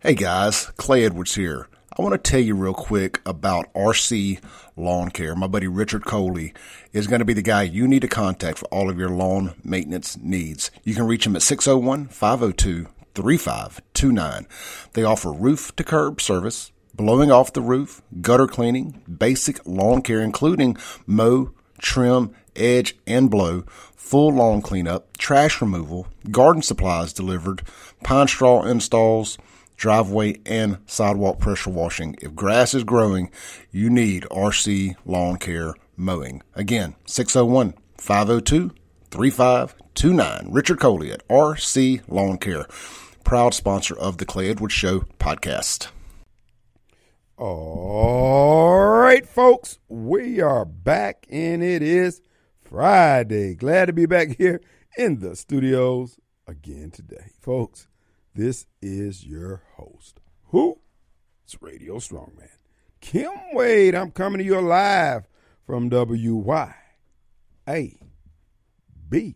Hey guys, Clay Edwards here. I want to tell you real quick about RC Lawn Care. My buddy Richard Coley is going to be the guy you need to contact for all of your lawn maintenance needs. You can reach him at 601-502-3529. They offer roof to curb service, blowing off the roof, gutter cleaning, basic lawn care including mow, trim, edge, and blow, full lawn cleanup, trash removal, garden supplies delivered, pine straw installs, driveway and sidewalk pressure washing. If grass is growing, you need RC Lawn Care Mowing. Again, 601-502-3529. Richard Coley at RC Lawn Care, proud sponsor of the Clay Edwards Show podcast. All right, folks, we are back, and it is Friday. Glad to be back here in the studios again today. Folks, this is your host. Who? It's Radio Strongman. Kim Wade. I'm coming to you live from WYAB 103.9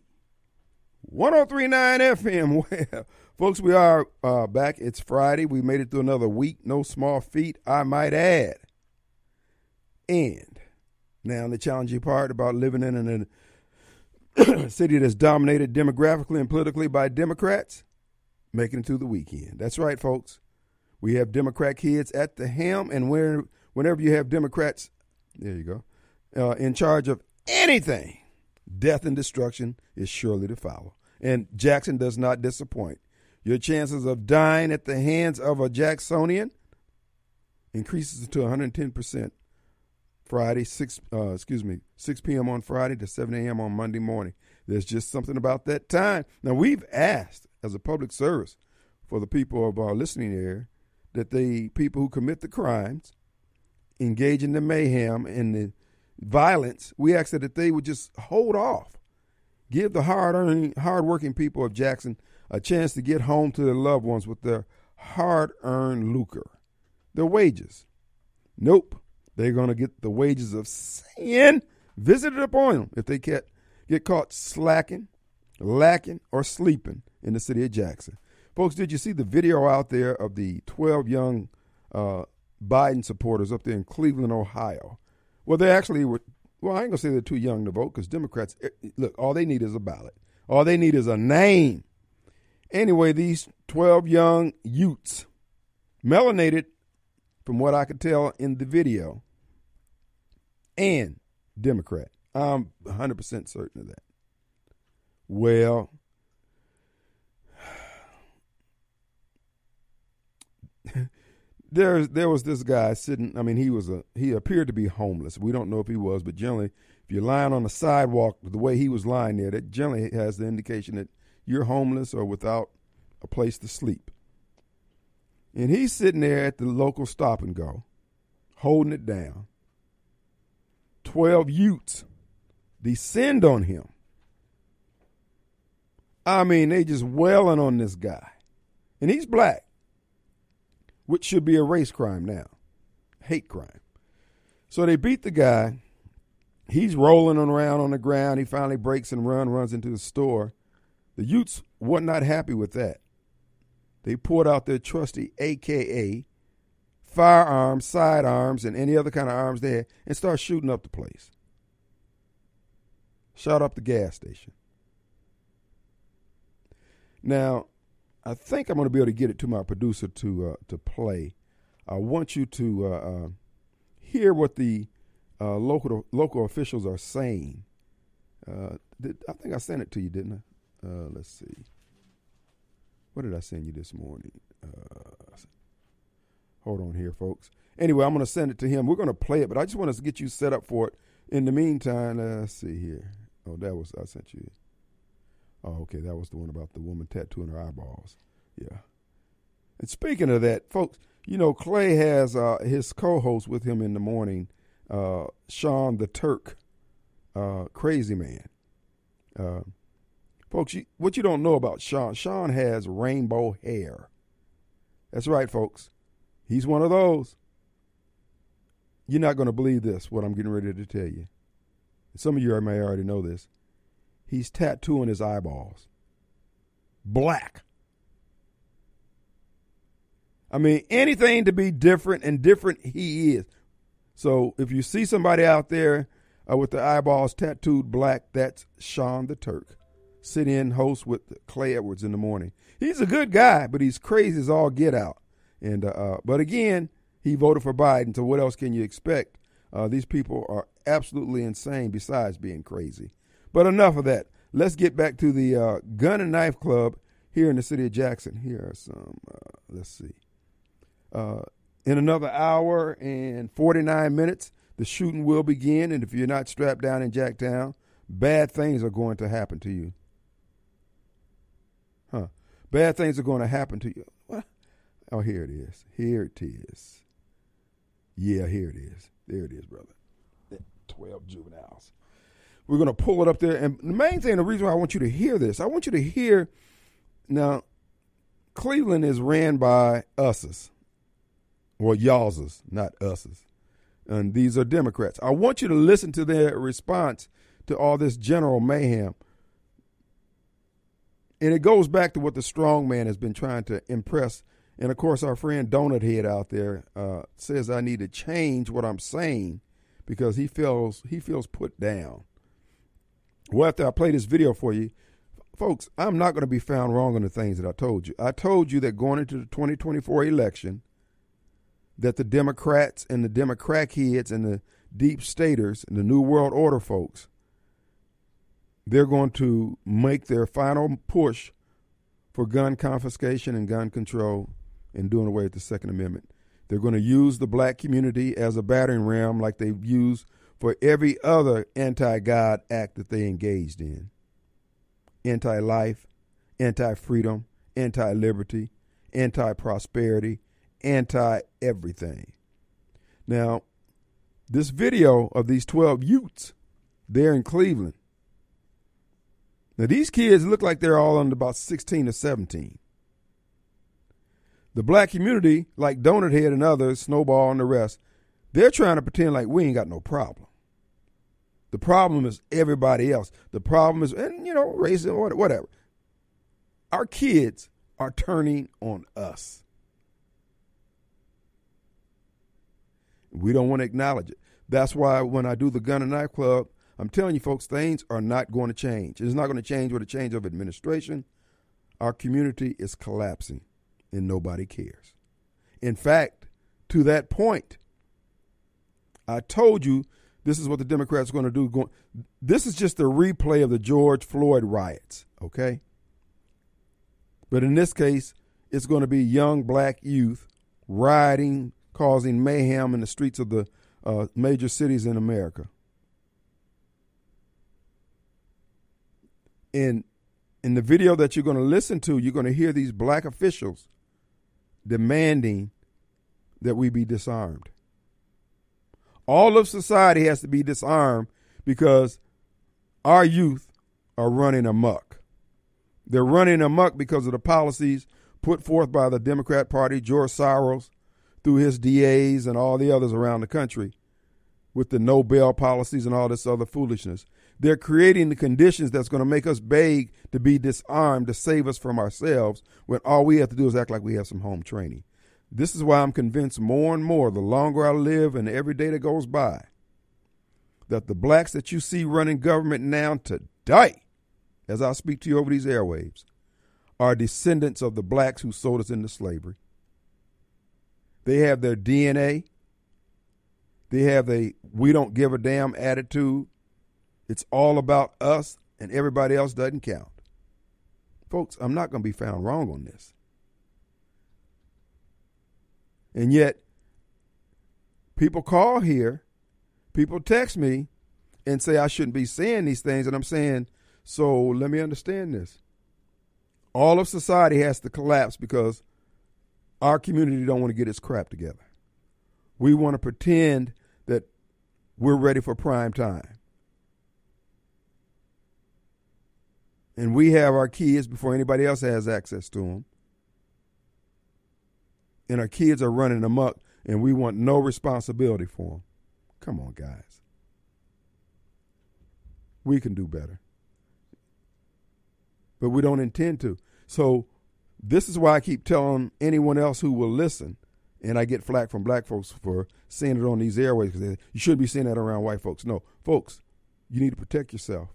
FM. Well, folks, we are back. It's Friday. We made it through another week. No small feat, I might add. And now the challenging part about living in a city that's dominated demographically and politically by Democrats, making it through the weekend. That's right, folks. We have Democrat kids at the helm, and whenever you have Democrats, there you go, in charge of anything, death and destruction is surely to follow. And Jackson does not disappoint. Your chances of dying at the hands of a Jacksonian increases to 110%. Friday, 6 p.m. on Friday to 7 a.m. on Monday morning. There's just something about that time. Now, we've asked, as a public service for the people of our listening area, that the people who commit the crimes, engage in the mayhem and the violence, we ask that they would just hold off. Give the hard-working people of Jackson a chance to get home to their loved ones with their hard-earned lucre, their wages. Nope. They're going to get the wages of sin visited upon them if they get caught slacking, lacking, or sleeping in the city of Jackson. Folks, did you see the video out there of the 12 young Biden supporters up there in Cleveland, Ohio? Well, they actually were, well, I ain't going to say they're too young to vote because Democrats, look, all they need is a ballot. All they need is a name. Anyway, these 12 young youths, melanated, from what I could tell in the video, and Democrat. I'm 100% certain of that. Well, there was this guy sitting. I mean, he appeared to be homeless. We don't know if he was, but generally, if you're lying on the sidewalk the way he was lying there, that generally has the indication that you're homeless or without a place to sleep. And he's sitting there at the local stop and go, holding it down. 12 youths descend on him. I mean, they just wailing on this guy. And he's black, which should be a race crime now, hate crime. So they beat the guy. He's rolling around on the ground. He finally breaks and runs into the store. The youths were not happy with that. They pulled out their trusty AKA, firearms, sidearms, and any other kind of arms they had, and started shooting up the place. Shot up the gas station. Now, I think I'm going to be able to get it to my producer to play. I want you to hear what the local officials are saying. I think I sent it to you, didn't I? Let's see. What did I send you this morning? Hold on here, folks. Anyway, I'm going to send it to him. We're going to play it, but I just want us to get you set up for it. In the meantime, let's see here. Oh, I sent you. Oh, okay, that was the one about the woman tattooing her eyeballs. Yeah. And speaking of that, folks, you know, Clay has his co-host with him in the morning, Sean the Turk, Crazy Man. Folks, what you don't know about Sean has rainbow hair. That's right, folks. He's one of those. You're not going to believe this, what I'm getting ready to tell you. Some of you may already know this. He's tattooing his eyeballs black. I mean, anything to be different, and different he is. So if you see somebody out there with the eyeballs tattooed black, that's Sean the Turk. Sit-in host with Clay Edwards in the morning. He's a good guy, but he's crazy as all get out. And but again, he voted for Biden, so what else can you expect? These people are absolutely insane besides being crazy. But enough of that. Let's get back to the Gun and Knife Club here in the city of Jackson. Here are some, let's see. In another hour and 49 minutes, the shooting will begin. And if you're not strapped down in Jacktown, bad things are going to happen to you. Bad things are going to happen to you. What? Oh, here it is. Here it is. Yeah, here it is. There it is, brother. 12 juveniles. We're going to pull it up there. And the main thing, the reason why I want you to hear this, I want you to hear, now, Cleveland is ran by us's, or y'all's, not us's. And these are Democrats. I want you to listen to their response to all this general mayhem. And it goes back to what the strong man has been trying to impress. And, of course, our friend Donut Head out there says I need to change what I'm saying because he feels put down. Well, after I play this video for you, folks, I'm not going to be found wrong on the things that I told you. I told you that going into the 2024 election, that the Democrats and the Democrat heads and the deep staters and the New World Order folks, they're going to make their final push for gun confiscation and gun control and doing away with the Second Amendment. They're going to use the black community as a battering ram like they've used for every other anti-God act that they engaged in. Anti-life, anti-freedom, anti-liberty, anti-prosperity, anti-everything. Now, this video of these 12 youths there in Cleveland, now, these kids look like they're all under about 16 or 17. The black community, like Donut Head and others, Snowball and the rest, they're trying to pretend like we ain't got no problem. The problem is everybody else. The problem is, and racism, whatever. Our kids are turning on us. We don't want to acknowledge it. That's why when I do the Gun and Knife Club, I'm telling you, folks, things are not going to change. It's not going to change with a change of administration. Our community is collapsing, and nobody cares. In fact, to that point, I told you this is what the Democrats are going to do. This is just a replay of the George Floyd riots, okay? But in this case, it's going to be young black youth rioting, causing mayhem in the streets of the major cities in America. In the video that you're going to listen to, you're going to hear these black officials demanding that we be disarmed. All of society has to be disarmed because our youth are running amok. They're running amok because of the policies put forth by the Democrat Party, George Soros, through his DAs and all the others around the country, with the no bail policies and all this other foolishness. They're creating the conditions that's going to make us beg to be disarmed to save us from ourselves when all we have to do is act like we have some home training. This is why I'm convinced more and more, the longer I live and every day that goes by, that the blacks that you see running government now today, as I speak to you over these airwaves, are descendants of the blacks who sold us into slavery. They have their DNA. They have a we don't give a damn attitude. It's all about us and everybody else doesn't count. Folks, I'm not going to be found wrong on this. And yet, people call here, people text me and say I shouldn't be saying these things. And I'm saying, so let me understand this. All of society has to collapse because our community don't want to get its crap together. We want to pretend that we're ready for prime time. And we have our kids before anybody else has access to them. And our kids are running amok, and we want no responsibility for them. Come on, guys. We can do better. But we don't intend to. So This is why I keep telling anyone else who will listen, and I get flack from black folks for saying it on these airways because you shouldn't be saying that around white folks. No, folks, you need to protect yourself.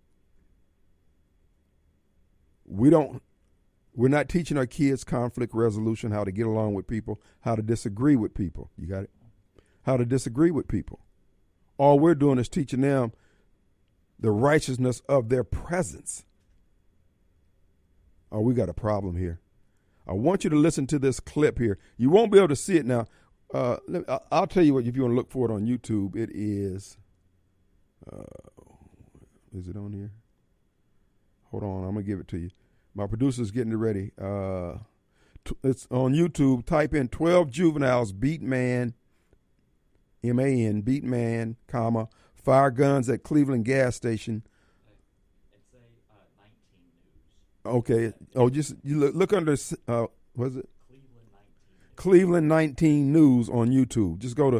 We're not teaching our kids conflict resolution, how to get along with people, how to disagree with people. You got it? How to disagree with people. All we're doing is teaching them the righteousness of their presence. Oh, we got a problem here. I want you to listen to this clip here. You won't be able to see it now. I'll tell you what, if you want to look for it on YouTube, it is it on here? Hold on, I'm going to give it to you. My producer's getting it ready. It's on YouTube. Type in 12 juveniles beat man, M-A-N, beat man, comma, fire guns at Cleveland gas station. It's a 19 News. Okay. Oh, just you look under, what is it? Cleveland 19 News. Cleveland 19 News on YouTube. Just go to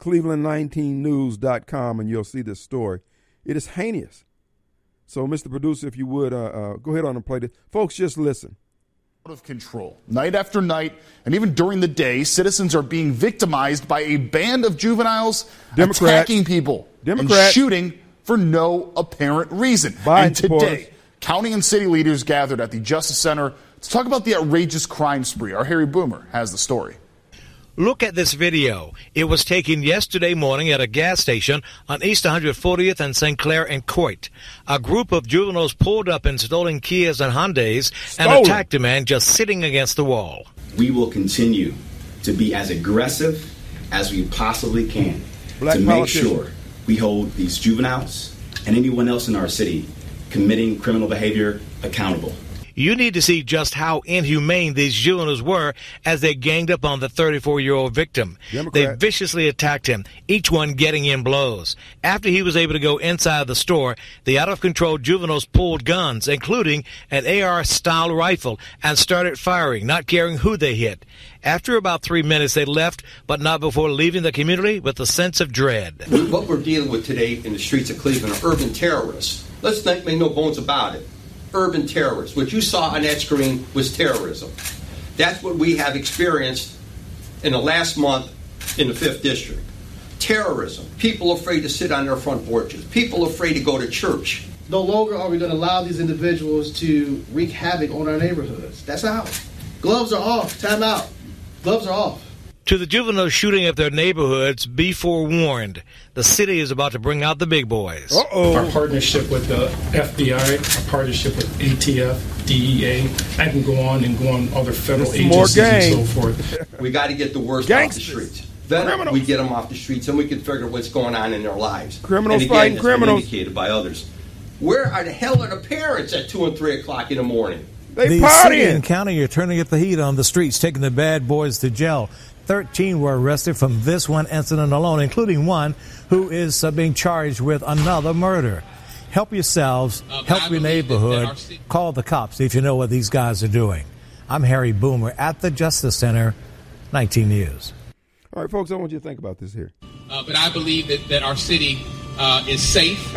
cleveland19news.com and you'll see this story. It is heinous. So, Mr. Producer, if you would, go ahead on and play this. Folks, just listen. Out of control. Night after night, and even during the day, citizens are being victimized by a band of juveniles attacking people and shooting for no apparent reason. And today, county and city leaders gathered at the Justice Center to talk about the outrageous crime spree. Our Harry Boomer has the story. Look at this video. It was taken yesterday morning at a gas station on East 140th and St. Clair and Coit. A group of juveniles pulled up in stolen Kias and Hyundais and attacked a man just sitting against the wall. We will continue to be as aggressive as we possibly can to make sure we hold these juveniles and anyone else in our city committing criminal behavior accountable. You need to see just how inhumane these juveniles were as they ganged up on the 34-year-old victim. They viciously attacked him, each one getting in blows. After he was able to go inside the store, the out-of-control juveniles pulled guns, including an AR-style rifle, and started firing, not caring who they hit. After about 3 minutes, they left, but not before leaving the community with a sense of dread. What we're dealing with today in the streets of Cleveland are urban terrorists. Let's not make no bones about it. Urban terrorists. What you saw on that screen was terrorism. That's what we have experienced in the last month in the 5th District. Terrorism. People afraid to sit on their front porches. People afraid to go to church. No longer are we going to allow these individuals to wreak havoc on our neighborhoods. That's out. Gloves are off. Time out. Gloves are off. To the juveniles shooting up their neighborhoods, be forewarned. The city is about to bring out the big boys. Our partnership with the FBI, our partnership with ATF, DEA, I can go on other federal agencies and so forth. We got to get the worst off the streets. Then we get them off the streets and we can figure out what's going on in their lives. Criminals and again, fighting criminals. Indicated by others. Where are the hell are the parents at 2 and 3 o'clock in the morning? The city and county are turning up the heat on the streets, taking the bad boys to jail. 13 were arrested from this one incident alone, including one who is being charged with another murder. Help yourselves, help your neighborhood, call the cops if you know what these guys are doing. I'm Harry Boomer at the Justice Center, 19 News. All right, folks, I want you to think about this here. But I believe that our city is safe.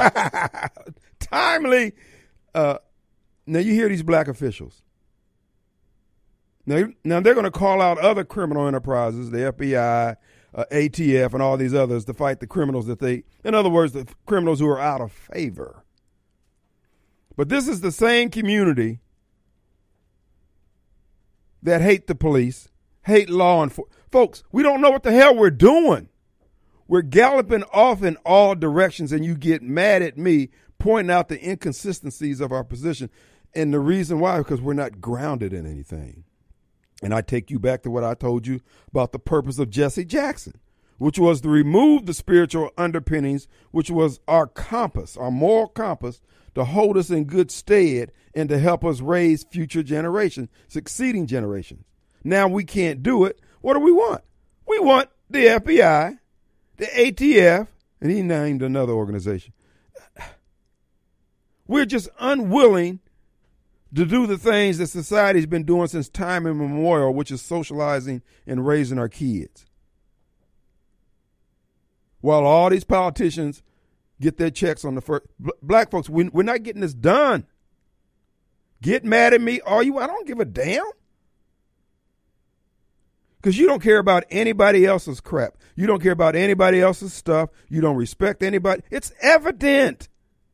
Timely. Now, you hear these black officials. Now they're going to call out other criminal enterprises, the FBI, ATF, and all these others to fight the criminals in other words, the criminals who are out of favor. But this is the same community that hate the police, hate law enforcement. Folks, we don't know what the hell we're doing. We're galloping off in all directions, and you get mad at me pointing out the inconsistencies of our position. And the reason why, because we're not grounded in anything. And I take you back to what I told you about the purpose of Jesse Jackson, which was to remove the spiritual underpinnings, which was our compass, our moral compass, to hold us in good stead and to help us raise future generations, succeeding generations. Now we can't do it. What do we want? We want the FBI, the ATF, and he named another organization. We're just unwilling to do the things that society's been doing since time immemorial, which is socializing and raising our kids. While all these politicians get their checks on the first. Black folks, we're not getting this done. Get mad at me, are you? I don't give a damn. Because you don't care about anybody else's crap. You don't care about anybody else's stuff. You don't respect anybody. It's evident.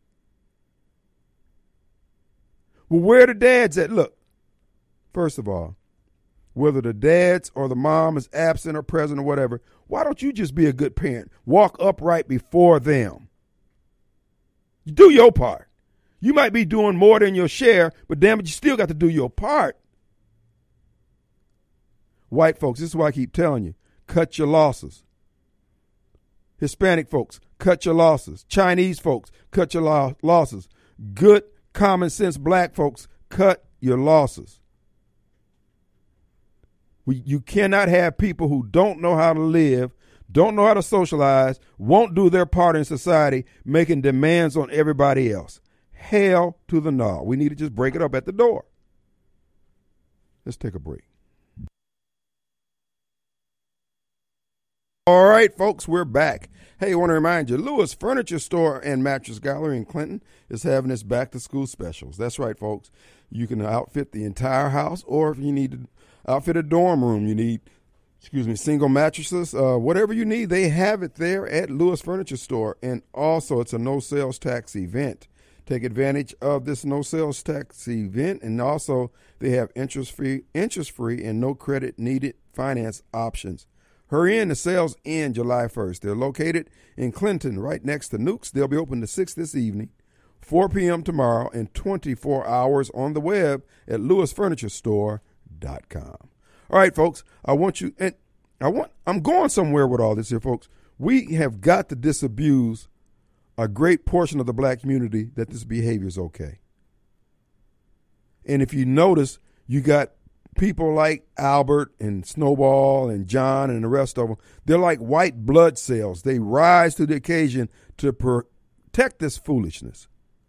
Well, where are the dads at? Look, first of all, whether the dads or the mom is absent or present or whatever, why don't you just be a good parent? Walk upright before them. Do your part. You might be doing more than your share, but damn it, you still got to do your part. White folks, this is why I keep telling you, cut your losses. Hispanic folks, cut your losses. Chinese folks, cut your losses. Good, common sense black folks, cut your losses. You cannot have people who don't know how to live, don't know how to socialize, won't do their part in society, making demands on everybody else. Hell to the no. We need to just break it up at the door. Let's take a break. All right, folks, we're back. Hey, I want to remind you, Lewis Furniture Store and Mattress Gallery in Clinton is having its back-to-school specials. That's right, folks. You can outfit the entire house, or if you need to outfit a dorm room, you need, single mattresses, whatever you need, they have it there at Lewis Furniture Store. And also, it's a no-sales tax event. Take advantage of this no-sales tax event, and also they have interest-free, and no credit needed finance options. Hurry in, the sales end July 1st. They're located in Clinton, right next to Nukes. They'll be open to 6 this evening, 4 p.m. tomorrow, and 24 hours on the web at lewisfurniturestore.com. All right, folks, I'm going somewhere with all this here, folks. We have got to disabuse a great portion of the black community that this behavior is okay. And if you notice, you got people like Albert and Snowball and John and the rest of them. They're like white blood cells. They rise to the occasion to protect this foolishness.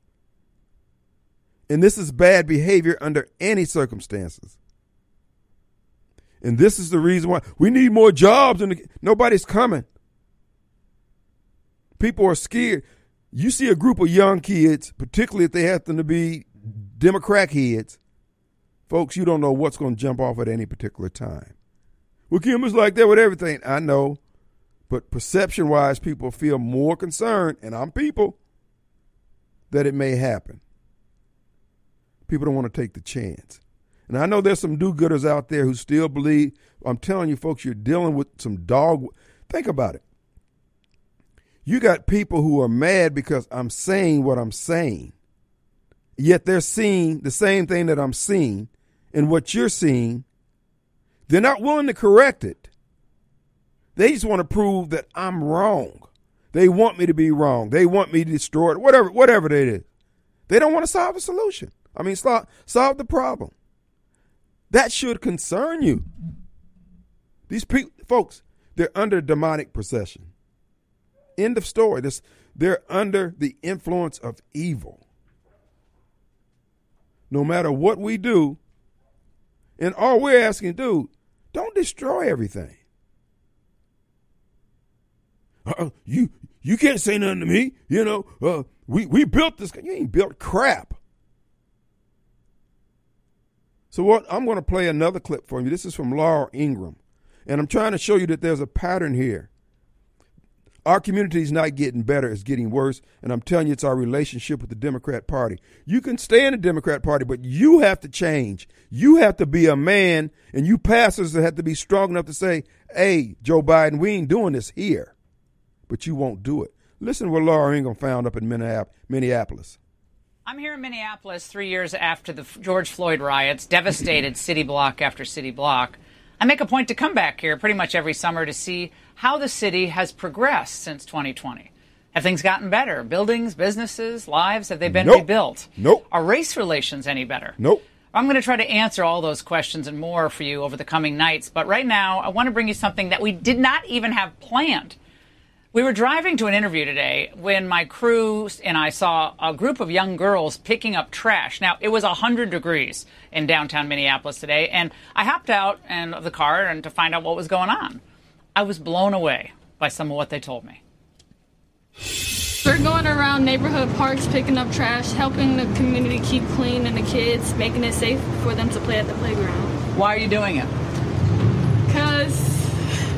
And this is bad behavior under any circumstances. And this is the reason why we need more jobs. Nobody's coming. People are scared. You see a group of young kids, particularly if they happen to be Democrat heads, folks, you don't know what's going to jump off at any particular time. Well, Kim is like that with everything. I know. But perception-wise, people feel more concerned, and I'm people, that it may happen. People don't want to take the chance. And I know there's some do-gooders out there who still believe. I'm telling you, folks, you're dealing with some dog. Think about it. You got people who are mad because I'm saying what I'm saying, yet they're seeing the same thing that I'm seeing, and what you're seeing, they're not willing to correct it. They just want to prove that I'm wrong. They want me to be wrong. They want me to destroy it, whatever it is. They don't want to solve a solution. Solve the problem. That should concern you. These people, folks, they're under demonic possession. End of story. They're under the influence of evil. No matter what we do, and all we're asking, dude, don't destroy everything. You can't say nothing to me. We built this. You ain't built crap. So what? I'm going to play another clip for you. This is from Laura Ingraham, and I'm trying to show you that there's a pattern here. Our community is not getting better, it's getting worse, and I'm telling you it's our relationship with the Democrat Party. You can stay in the Democrat Party, but you have to change. You have to be a man, and you pastors have to be strong enough to say, hey, Joe Biden, we ain't doing this here. But you won't do it. Listen to what Laura Ingraham found up in Minneapolis. I'm here in Minneapolis 3 years after the George Floyd riots, devastated city block after city block. I make a point to come back here pretty much every summer to see how the city has progressed since 2020. Have things gotten better? Buildings, businesses, lives, have they been rebuilt? Nope. Are race relations any better? Nope. I'm going to try to answer all those questions and more for you over the coming nights. But right now, I want to bring you something that we did not even have planned. We were driving to an interview today when my crew and I saw a group of young girls picking up trash. Now, it was 100 degrees in downtown Minneapolis today, and I hopped out of the car and to find out what was going on. I was blown away by some of what they told me. We're going around neighborhood parks, picking up trash, helping the community keep clean and the kids, making it safe for them to play at the playground. Why are you doing it? Because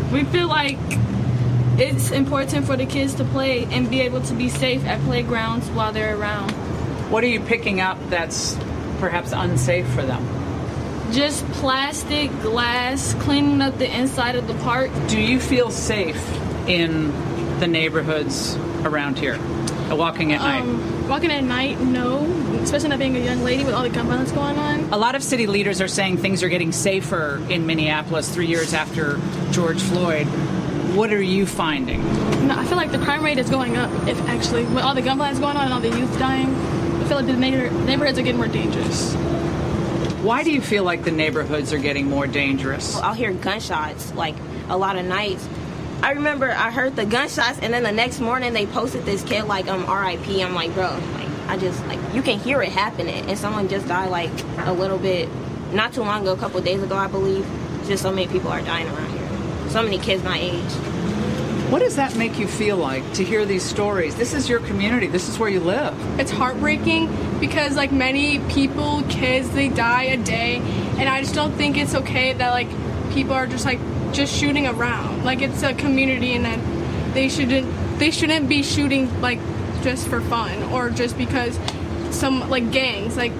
We feel like it's important for the kids to play and be able to be safe at playgrounds while they're around. What are you picking up that's perhaps unsafe for them? Just plastic, glass, cleaning up the inside of the park. Do you feel safe in the neighborhoods around here, walking at night? Walking at night, no, especially not being a young lady with all the gun violence going on. A lot of city leaders are saying things are getting safer in Minneapolis 3 years after George Floyd. What are you finding? No, I feel like the crime rate is going up, with all the gun violence going on and all the youth dying. I feel like the neighborhoods are getting more dangerous. Why do you feel like the neighborhoods are getting more dangerous? I'll hear gunshots, like, a lot of nights. I remember I heard the gunshots, and then the next morning they posted this kid, like, R.I.P. I'm like, bro, you can hear it happening. And someone just died, like, a little bit, not too long ago, a couple of days ago, I believe. Just so many people are dying around here. So many kids my age. What does that make you feel like to hear these stories? This is your community. This is where you live. It's heartbreaking because, like, many people, kids, they die a day. And I just don't think it's okay that, like, people are just shooting around. Like, it's a community and that they shouldn't be shooting, like, just for fun or just because some, like, gangs. Like,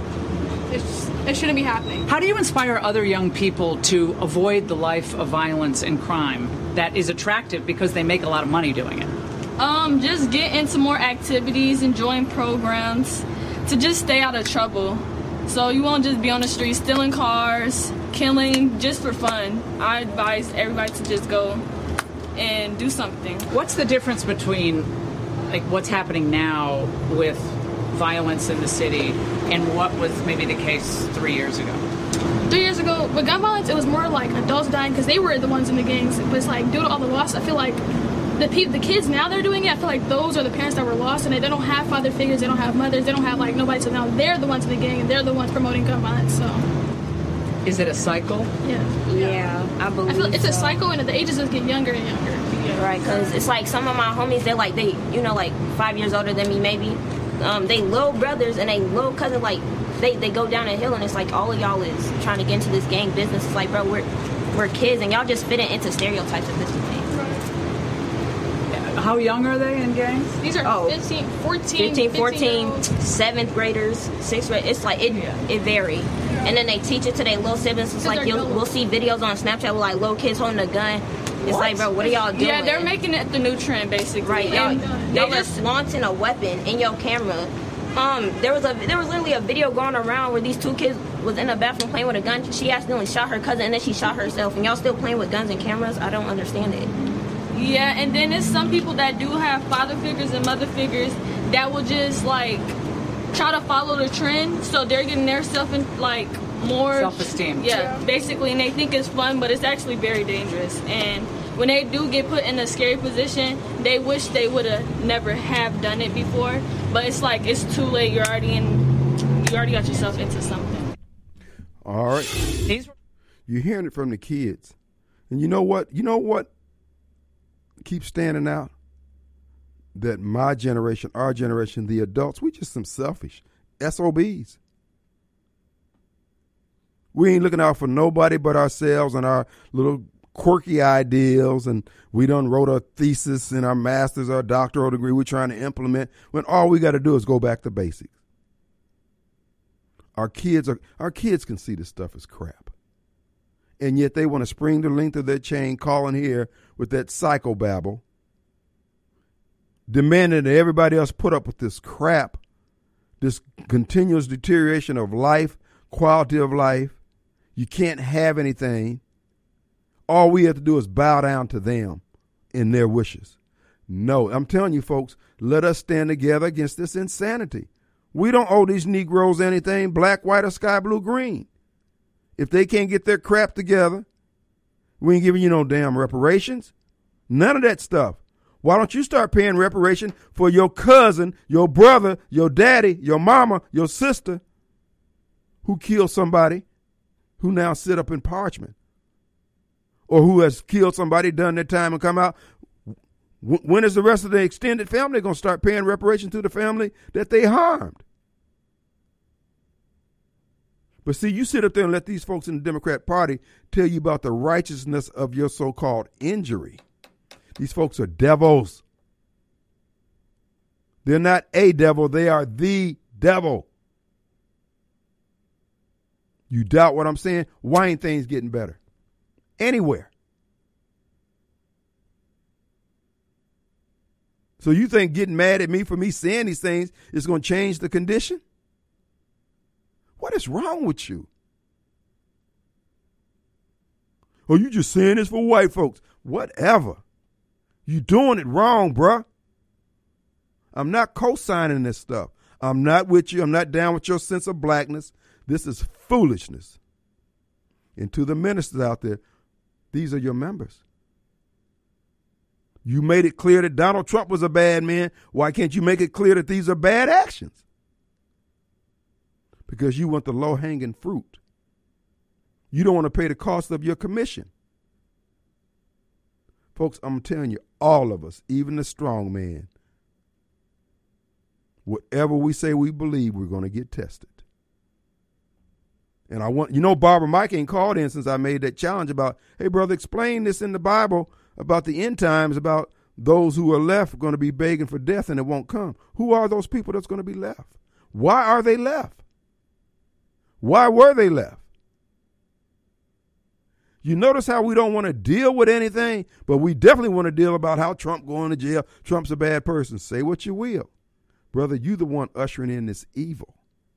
it shouldn't be happening. How do you inspire other young people to avoid the life of violence and crime that is attractive because they make a lot of money doing it? Just get into more activities and join programs to just stay out of trouble. So you won't just be on the street stealing cars, killing just for fun. I advise everybody to just go and do something. What's the difference between, like, what's happening now with violence in the city and what was maybe the case 3 years ago? 3 years ago, with gun violence, it was more like adults dying because they were the ones in the gangs. But it's like, due to all the loss, I feel like the kids now they're doing it. I feel like those are the parents that were lost and they don't have father figures, they don't have mothers, they don't have, like, nobody. So now they're the ones in the gang and they're the ones promoting gun violence. So, is it a cycle? Yeah, I believe. I feel like it's a cycle, and the ages just get younger and younger. Yeah. Right, because it's like some of my homies, they're like 5 years older than me, maybe. They little brothers and they little cousin, like, they go down a hill and it's like all of y'all is trying to get into this gang business. It's like, bro, we're kids and y'all just fit into stereotypes of this thing. How young are they in gangs? These are 15, 14, 7th graders, 6th grade. It's like, it varies. And then they teach it to their little siblings. It's like, we'll see videos on Snapchat with, like, little kids holding a gun. It's like, bro, what are y'all doing? Yeah, they're making it the new trend, basically. Right, y'all are flaunting a weapon in your camera. There was literally a video going around where these two kids was in the bathroom playing with a gun. She accidentally shot her cousin and then she shot herself. And y'all still playing with guns and cameras? I don't understand it. Yeah, and then there's some people that do have father figures and mother figures that will just, like, try to follow the trend. So they're getting their more self-esteem. Yeah, basically, and they think it's fun, but it's actually very dangerous. And when they do get put in a scary position, they wish they would have never have done it before. But it's like, it's too late. You already got yourself into something. All right. You're hearing it from the kids. And you know what? Keeps standing out? That my generation, our generation, the adults, we just some selfish SOBs. We ain't looking out for nobody but ourselves and our little quirky ideals, and we done wrote a thesis in our master's or doctoral degree we're trying to implement when all we got to do is go back to basics. Our kids can see this stuff as crap. And yet they want to spring the length of their chain, calling here with that psychobabble, demanding that everybody else put up with this crap, this continuous deterioration of life, quality of life. You can't have anything. All we have to do is bow down to them in their wishes. No, I'm telling you, folks, let us stand together against this insanity. We don't owe these Negroes anything, black, white, or sky blue, green. If they can't get their crap together, we ain't giving you no damn reparations. None of that stuff. Why don't you start paying reparation for your cousin, your brother, your daddy, your mama, your sister who killed somebody who now sit up in Parchman, or who has killed somebody, done their time, and come out? When is the rest of the extended family going to start paying reparation to the family that they harmed? But see, you sit up there and let these folks in the Democrat Party tell you about the righteousness of your so-called injury. These folks are devils. They're not a devil. They are the devil. You doubt what I'm saying? Why ain't things getting better? Anywhere. So you think getting mad at me for me saying these things is going to change the condition? What is wrong with you? Or you just saying this for white folks? Whatever. You doing it wrong, bruh. I'm not co-signing this stuff. I'm not with you. I'm not down with your sense of blackness. This is foolishness. And to the ministers out there, these are your members. You made it clear that Donald Trump was a bad man. Why can't you make it clear that these are bad actions? Because you want the low-hanging fruit. You don't want to pay the cost of your commission. Folks, I'm telling you, all of us, even the strong man, whatever we say we believe, we're going to get tested. And I want, Barbara Mike ain't called in since I made that challenge about, hey, brother, explain this in the Bible about the end times, about those who are left going to be begging for death and it won't come. Who are those people that's going to be left? Why are they left? Why were they left? You notice how we don't want to deal with anything, but we definitely want to deal about how Trump going to jail. Trump's a bad person. Say what you will. Brother, you the one ushering in this evil.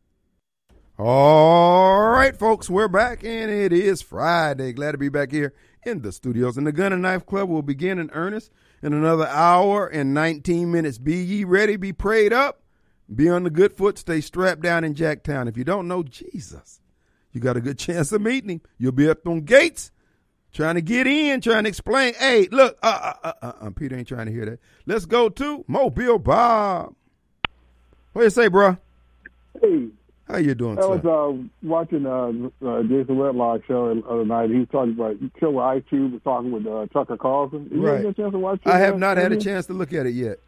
All right, folks, we're back, and it is Friday. Glad to be back here in the studios. And the Gun and Knife Club will begin in earnest in another hour and 19 minutes. Be ye ready, be prayed up, be on the good foot, stay strapped down in Jacktown. If you don't know Jesus, you got a good chance of meeting him. You'll be up on gates trying to get in, trying to explain. Hey, look, Peter ain't trying to hear that. Let's go to Mobile Bob. What do you say, bro? Hey. How you doing, sir? I was watching Jason Whitlock show the other night. He was talking about the show where Ice Cube was talking with Tucker Carlson. You right. Had a chance to watch it? I have not had a chance to look at it yet.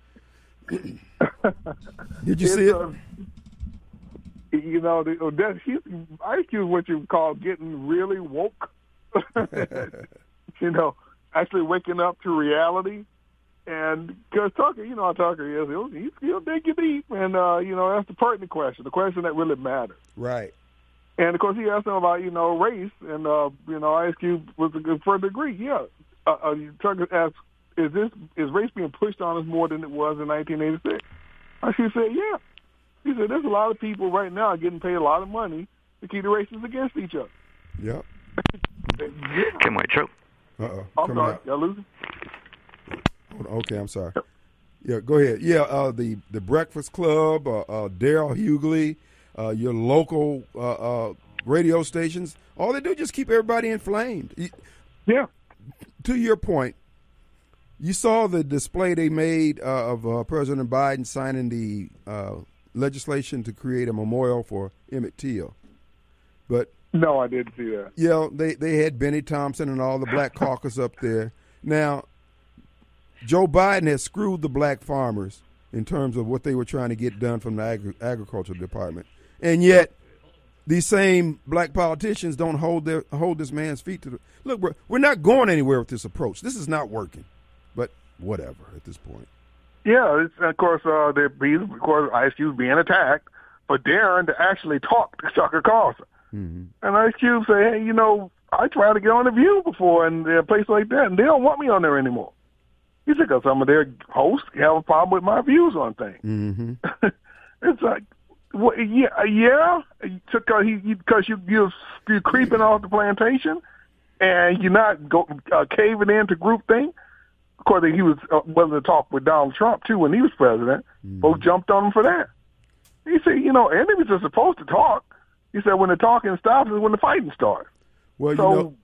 Did you see it? Ice Cube is what you call getting really woke. Actually waking up to reality. And because Tucker, you know how Tucker is, he'll dig you deep. And, that's the pertinent question, the question that really matters. Right. And, of course, he asked him about, race. And, Ice Cube was a further agree. Yeah. Tucker asked, is race being pushed on us more than it was in 1986? Ice Cube said, yeah. He said, there's a lot of people right now getting paid a lot of money to keep the races against each other. Yep. Kim White Show. Uh-oh. I'm sorry. Y'all losing? Okay, I'm sorry. Yeah, go ahead. Yeah, the Breakfast Club, Daryl Hughley, your local radio stations, all they do is just keep everybody inflamed. Yeah. To your point, you saw the display they made of President Biden signing the legislation to create a memorial for Emmett Till. But no, I didn't see that. Yeah, they had Benny Thompson and all the Black Caucus up there. Now, Joe Biden has screwed the black farmers in terms of what they were trying to get done from the agricultural department. And yet, these same black politicians don't hold this man's feet to the – look, bro, we're not going anywhere with this approach. This is not working. But whatever at this point. Yeah, of course, Ice Cube being attacked for daring to actually talk to Tucker Carlson. Mm-hmm. And Ice Cube say, hey, I tried to get on The View before and a place like that, and they don't want me on there anymore. He said, because some of their hosts have a problem with my views on things. Mm-hmm. It's like, well, yeah, because you're creeping off the plantation, and you're not caving into groupthink. Of course, he was willing to talk with Donald Trump too when he was president. Mm-hmm. Folks jumped on him for that. He said, enemies are supposed to talk. He said, when the talking stops is when the fighting starts. Well,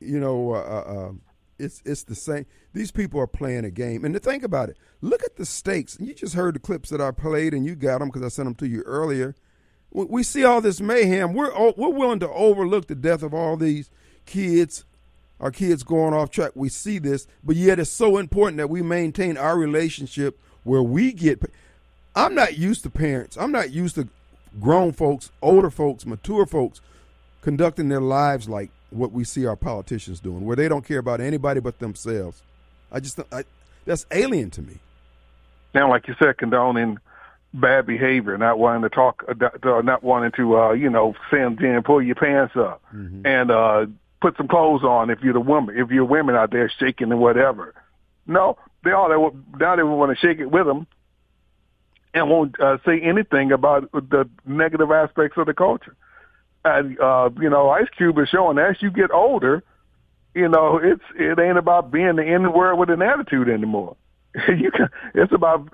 it's the same. These people are playing a game. And to think about it, look at the stakes. You just heard the clips that I played, and you got them because I sent them to you earlier. We see all this mayhem. We're willing to overlook the death of all these kids, our kids going off track. We see this, but yet it's so important that we maintain our relationship where we get – I'm not used to parents. I'm not used to grown folks, older folks, mature folks conducting their lives like what we see our politicians doing, where they don't care about anybody but themselves. That's alien to me. Now, like you said, condoning bad behavior, not wanting to talk, not wanting to, send in, pull your pants up, and put some clothes on if you're the woman. If you're women out there shaking and whatever. No, they want to shake it with them and won't say anything about the negative aspects of the culture. And Ice Cube is showing as you get older, it ain't about being the N-word with an attitude anymore. It's about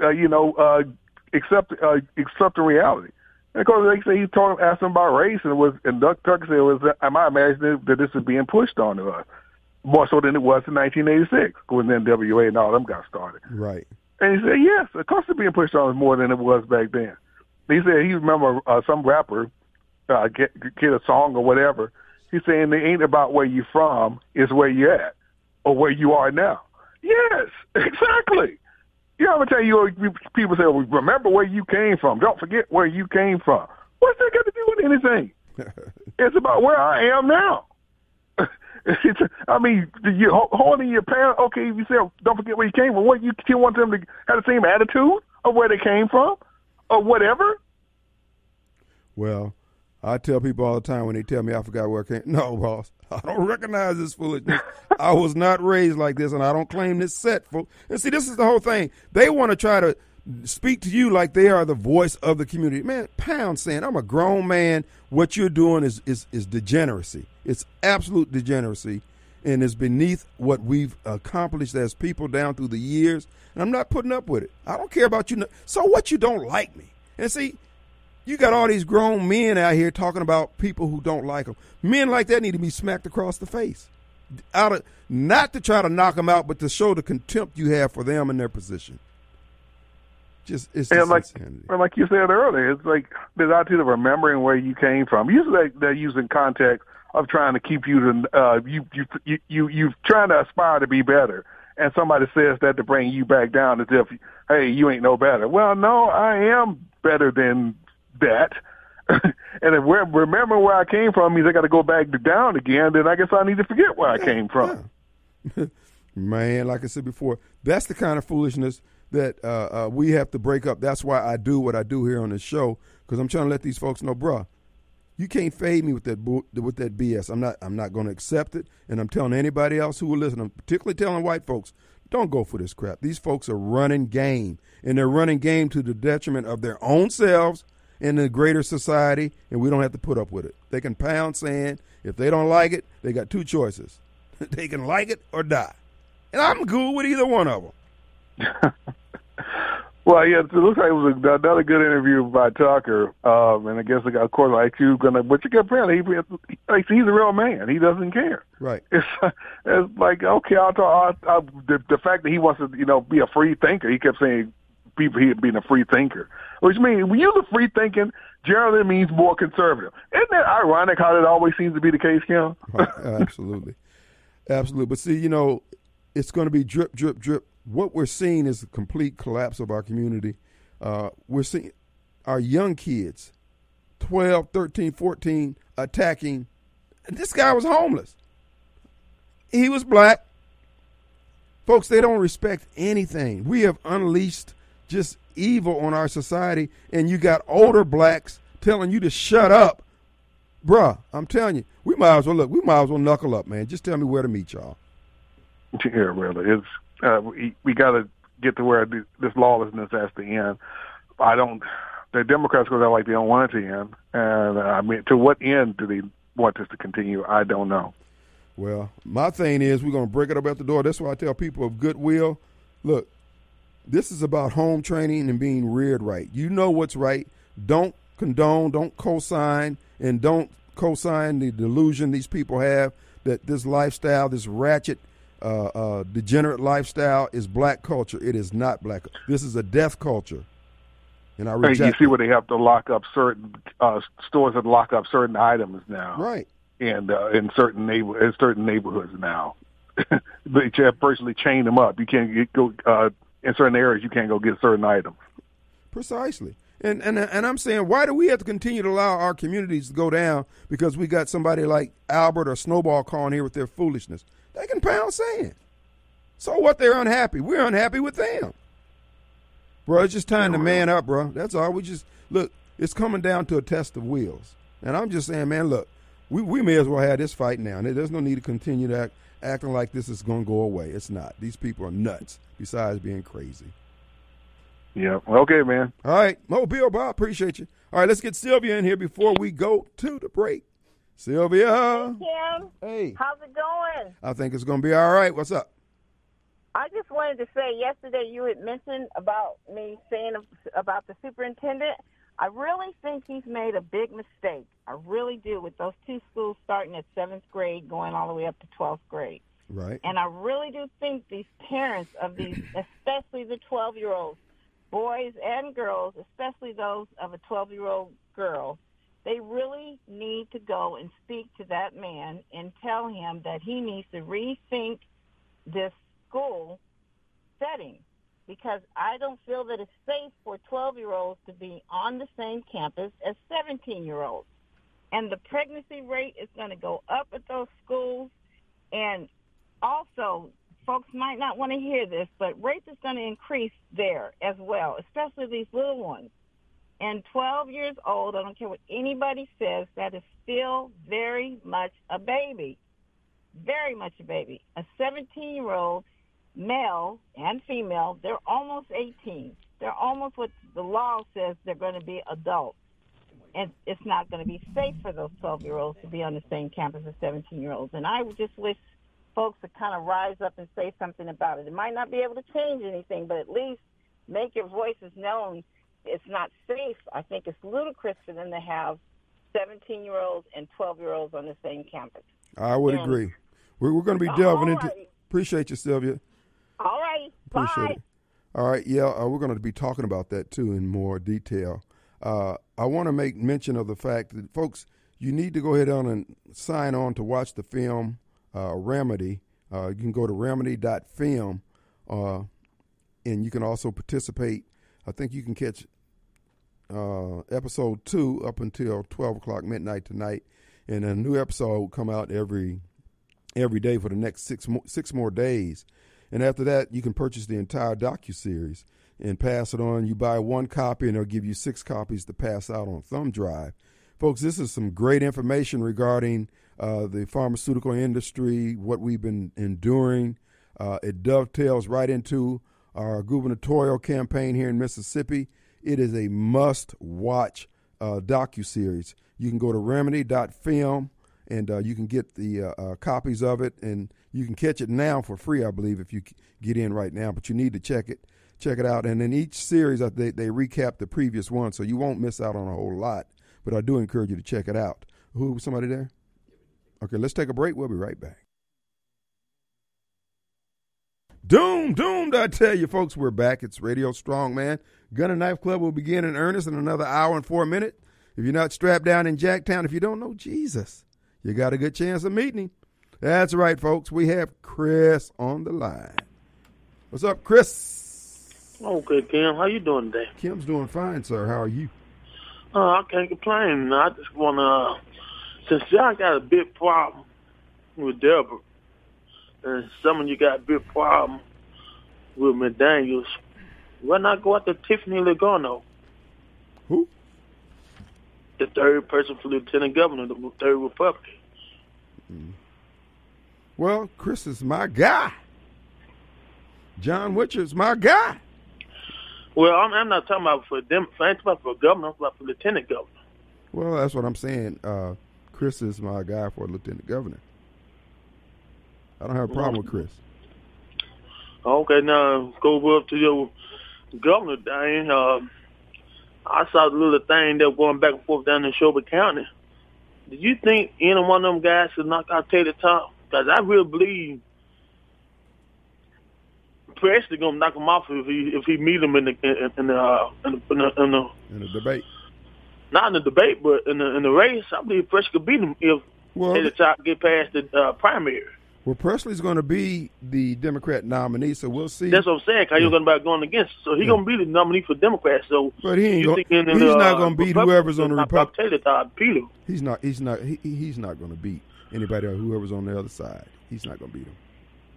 accepting reality. And of course, they say he asked him about race, and Doug Tucker said, "Am I imagining that this is being pushed onto us more so than it was in 1986 when the NWA and all them got started?" Right. And he said, "Yes, of course it's being pushed on us more than it was back then." He said he remember some rapper get a song or whatever. He's saying it ain't about where you're from, it's where you're at or where you are now. Yes, exactly. You know, I'm going to tell you, people say, well, remember where you came from. Don't forget where you came from. What's that got to do with anything? It's about where I am now. You're holding your parents. Okay, if you say, don't forget where you came from, what, you still want them to have the same attitude of where they came from or whatever? Well, I tell people all the time when they tell me I forgot where I came. No, boss, I don't recognize this foolishness. I was not raised like this, and I don't claim this set. And see, this is the whole thing. They want to try to speak to you like they are the voice of the community. Man, Pound saying, I'm a grown man. What you're doing is degeneracy. It's absolute degeneracy, and it's beneath what we've accomplished as people down through the years, and I'm not putting up with it. I don't care about you. So what, you don't like me? And see, you got all these grown men out here talking about people who don't like them. Men like that need to be smacked across the face. Not to try to knock them out, but to show the contempt you have for them and their position. Like you said earlier, it's like the attitude of remembering where you came from. Usually they're using context of trying to keep you to you trying to aspire to be better, and somebody says that to bring you back down as if, hey, you ain't no better. Well, no, I am better than that. And if remember where I came from means I got to go back down again, then I guess I need to forget where I came from. Yeah. Man, like I said before, that's the kind of foolishness that we have to break up. That's why I do what I do here on this show, because I'm trying to let these folks know, bruh, you can't fade me with that BS. I'm not going to accept it, and I'm telling anybody else who will listen, I'm particularly telling white folks, don't go for this crap. These folks are running game, and they're running game to the detriment of their own selves and the greater society, and we don't have to put up with it. They can pound sand. If they don't like it, they got two choices. They can like it or die. And I'm good with either one of them. Well, yeah, it looks like it was another good interview by Tucker, and I guess, of course, like you apparently he's a real man. He doesn't care. Right. It's like, okay, I'll talk. The fact that he wants to, be a free thinker. He kept saying he being a free thinker, which means when you use free thinking generally means more conservative. Isn't that ironic how that always seems to be the case, Kim? Absolutely. Absolutely. But see, it's going to be drip, drip, drip. What we're seeing is a complete collapse of our community. We're seeing our young kids, 12, 13, 14, attacking. And this guy was homeless. He was black. Folks, they don't respect anything. We have unleashed just evil on our society, and you got older blacks telling you to shut up. Bruh, I'm telling you, we might as well knuckle up, man. Just tell me where to meet y'all. Yeah, really. It's we got to get to where this lawlessness has to end. The Democrats go out like they don't want it to end. And to what end do they want this to continue? I don't know. Well, my thing is we're going to break it up at the door. That's why I tell people of goodwill, look, this is about home training and being reared right. You know what's right. Don't condone, don't co-sign, and don't co-sign the delusion these people have that this lifestyle, this ratchet, degenerate lifestyle is black culture. It is not black. This is a death culture. And I reject you see where they have to lock up certain stores that lock up certain items now. Right. And in certain neighborhoods now. They personally chain them up. You can't go in certain areas. You can't go get certain items. Precisely. And I'm saying, why do we have to continue to allow our communities to go down because we got somebody like Albert or Snowball calling here with their foolishness? They can pound sand. So what? They're unhappy. We're unhappy with them. Bro, it's just time to man up, bro. That's all. Look, it's coming down to a test of wills. And I'm just saying, man, look, we may as well have this fight now. And there's no need to continue to acting like this is going to go away. It's not. These people are nuts, besides being crazy. Yeah. Okay, man. All right. Mobile Bob, appreciate you. All right, let's get Sylvia in here before we go to the break. Sylvia. Hey, Kim. Hey. How's it going? I think it's going to be all right. What's up? I just wanted to say, yesterday you had mentioned about me saying about the superintendent. I really think he's made a big mistake. I really do, with those two schools starting at 7th grade, going all the way up to 12th grade. Right. And I really do think these parents of these, especially the 12-year-olds, boys and girls, especially those of a 12-year-old girl, they really need to go and speak to that man and tell him that he needs to rethink this school setting, because I don't feel that it's safe for 12-year-olds to be on the same campus as 17-year-olds. And the pregnancy rate is going to go up at those schools. And also, folks might not want to hear this, but rates is going to increase there as well, especially these little ones. And 12 years old, I don't care what anybody says, that is still very much a baby. Very much a baby. A 17-year-old male and female, they're almost 18. They're almost what the law says they're going to be adults. And it's not going to be safe for those 12-year-olds to be on the same campus as 17-year-olds. And I would just wish folks to kind of rise up and say something about it. It might not be able to change anything, but at least make your voices known. It's not safe. I think it's ludicrous for them to have 17-year-olds and 12-year-olds on the same campus. I would agree. We're going to be delving into – appreciate you, Sylvia. All right. Appreciate it. All right. Yeah, we're going to be talking about that, too, in more detail. I want to make mention of the fact that, folks, you need to go ahead on and sign on to watch the film Remedy. You can go to remedy.film, and you can also participate. I think you can catch episode 2 up until 12 o'clock midnight tonight, and a new episode will come out every day for the next six more days. And after that, you can purchase the entire docuseries and pass it on. You buy one copy, and they'll give you 6 copies to pass out on thumb drive. Folks, this is some great information regarding the pharmaceutical industry, what we've been enduring. It dovetails right into our gubernatorial campaign here in Mississippi. It is a must-watch docuseries. You can go to remedy.film, and you can get the copies of it, and you can catch it now for free, I believe, if you get in right now. But you need to check it out. And in each series, they recap the previous one, so you won't miss out on a whole lot. But I do encourage you to check it out. Somebody there? Okay, let's take a break. We'll be right back. Doomed, I tell you, folks, we're back. It's Radio Strong, man. Gun and Knife Club will begin in earnest in another hour and 4 minutes. If you're not strapped down in Jacktown, if you don't know Jesus, you got a good chance of meeting him. That's right, folks. We have Chris on the line. What's up, Chris? Okay, Kim. How you doing today? Kim's doing fine, sir. How are you? I can't complain. I just want to, since y'all got a big problem with Deborah, and some of you got a big problem with McDaniels, why not go after Tiffany Lugano? Who? The third person for lieutenant governor, the third Republican. Well, Chris is my guy. John Witcher's my guy. Well, I'm not talking about for them. I ain't talking about for governor. I'm talking about for lieutenant governor. Well, that's what I'm saying. Chris is my guy for lieutenant governor. I don't have a problem with Chris. Okay, now go up to your governor thing. I saw the little thing that was going back and forth down in Shelby County. Did you think any one of them guys should knock out Taylor Top? Because I really believe Presley gonna knock him off if he meet him in the debate. Not in the debate, but in the race. I believe Presley could beat him if Taylor Top get past the primary. Well, Presley's going to be the Democrat nominee, so we'll see. That's what I'm saying. How you going to be going against? So he's going to be the nominee for Democrats. So, but he's not going to beat whoever's on the Republican. He's not going to beat anybody or whoever's on the other side. He's not going to beat him.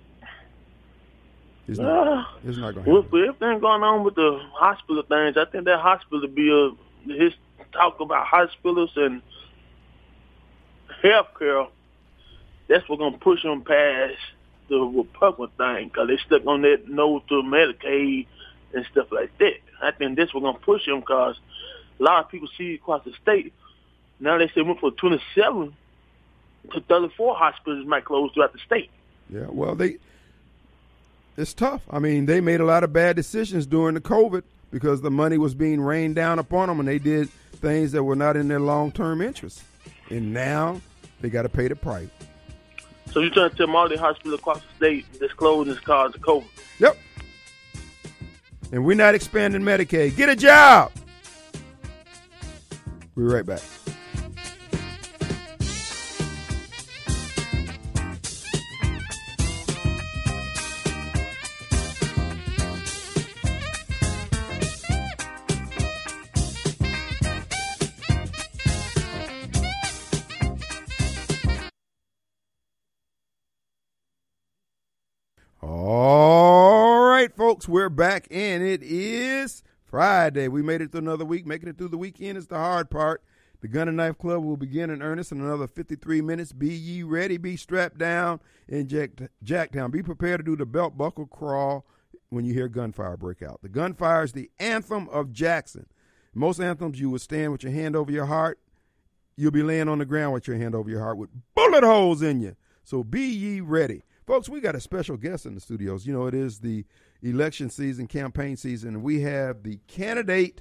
It's not going to happen. With everything going on with the hospital things, I think that hospital be his talk about hospitals and health care. That's what's going to push them past the Republican thing because they stuck on that no to Medicaid and stuff like that. I think that's what's going to push them because a lot of people see across the state. Now they say went from 27 to 34 hospitals might close throughout the state. Yeah, well, it's tough. I mean, they made a lot of bad decisions during the COVID because the money was being rained down upon them and they did things that were not in their long-term interest. And now they got to pay the price. So you're trying to tell all the hospitals across the state that's closed is caused of COVID? Yep. And we're not expanding Medicaid. Get a job. We'll be right back. All right, folks, we're back, and it is Friday. We made it through another week. Making it through the weekend is the hard part. The Gun and Knife Club will begin in earnest in another 53 minutes. Be ye ready, be strapped down, and jack down. Be prepared to do the belt buckle crawl when you hear gunfire break out. The gunfire is the anthem of Jackson. Most anthems, you would stand with your hand over your heart. You'll be laying on the ground with your hand over your heart with bullet holes in you. So be ye ready. Folks, we got a special guest in the studios. You know, it is the election season, campaign season, and we have the candidate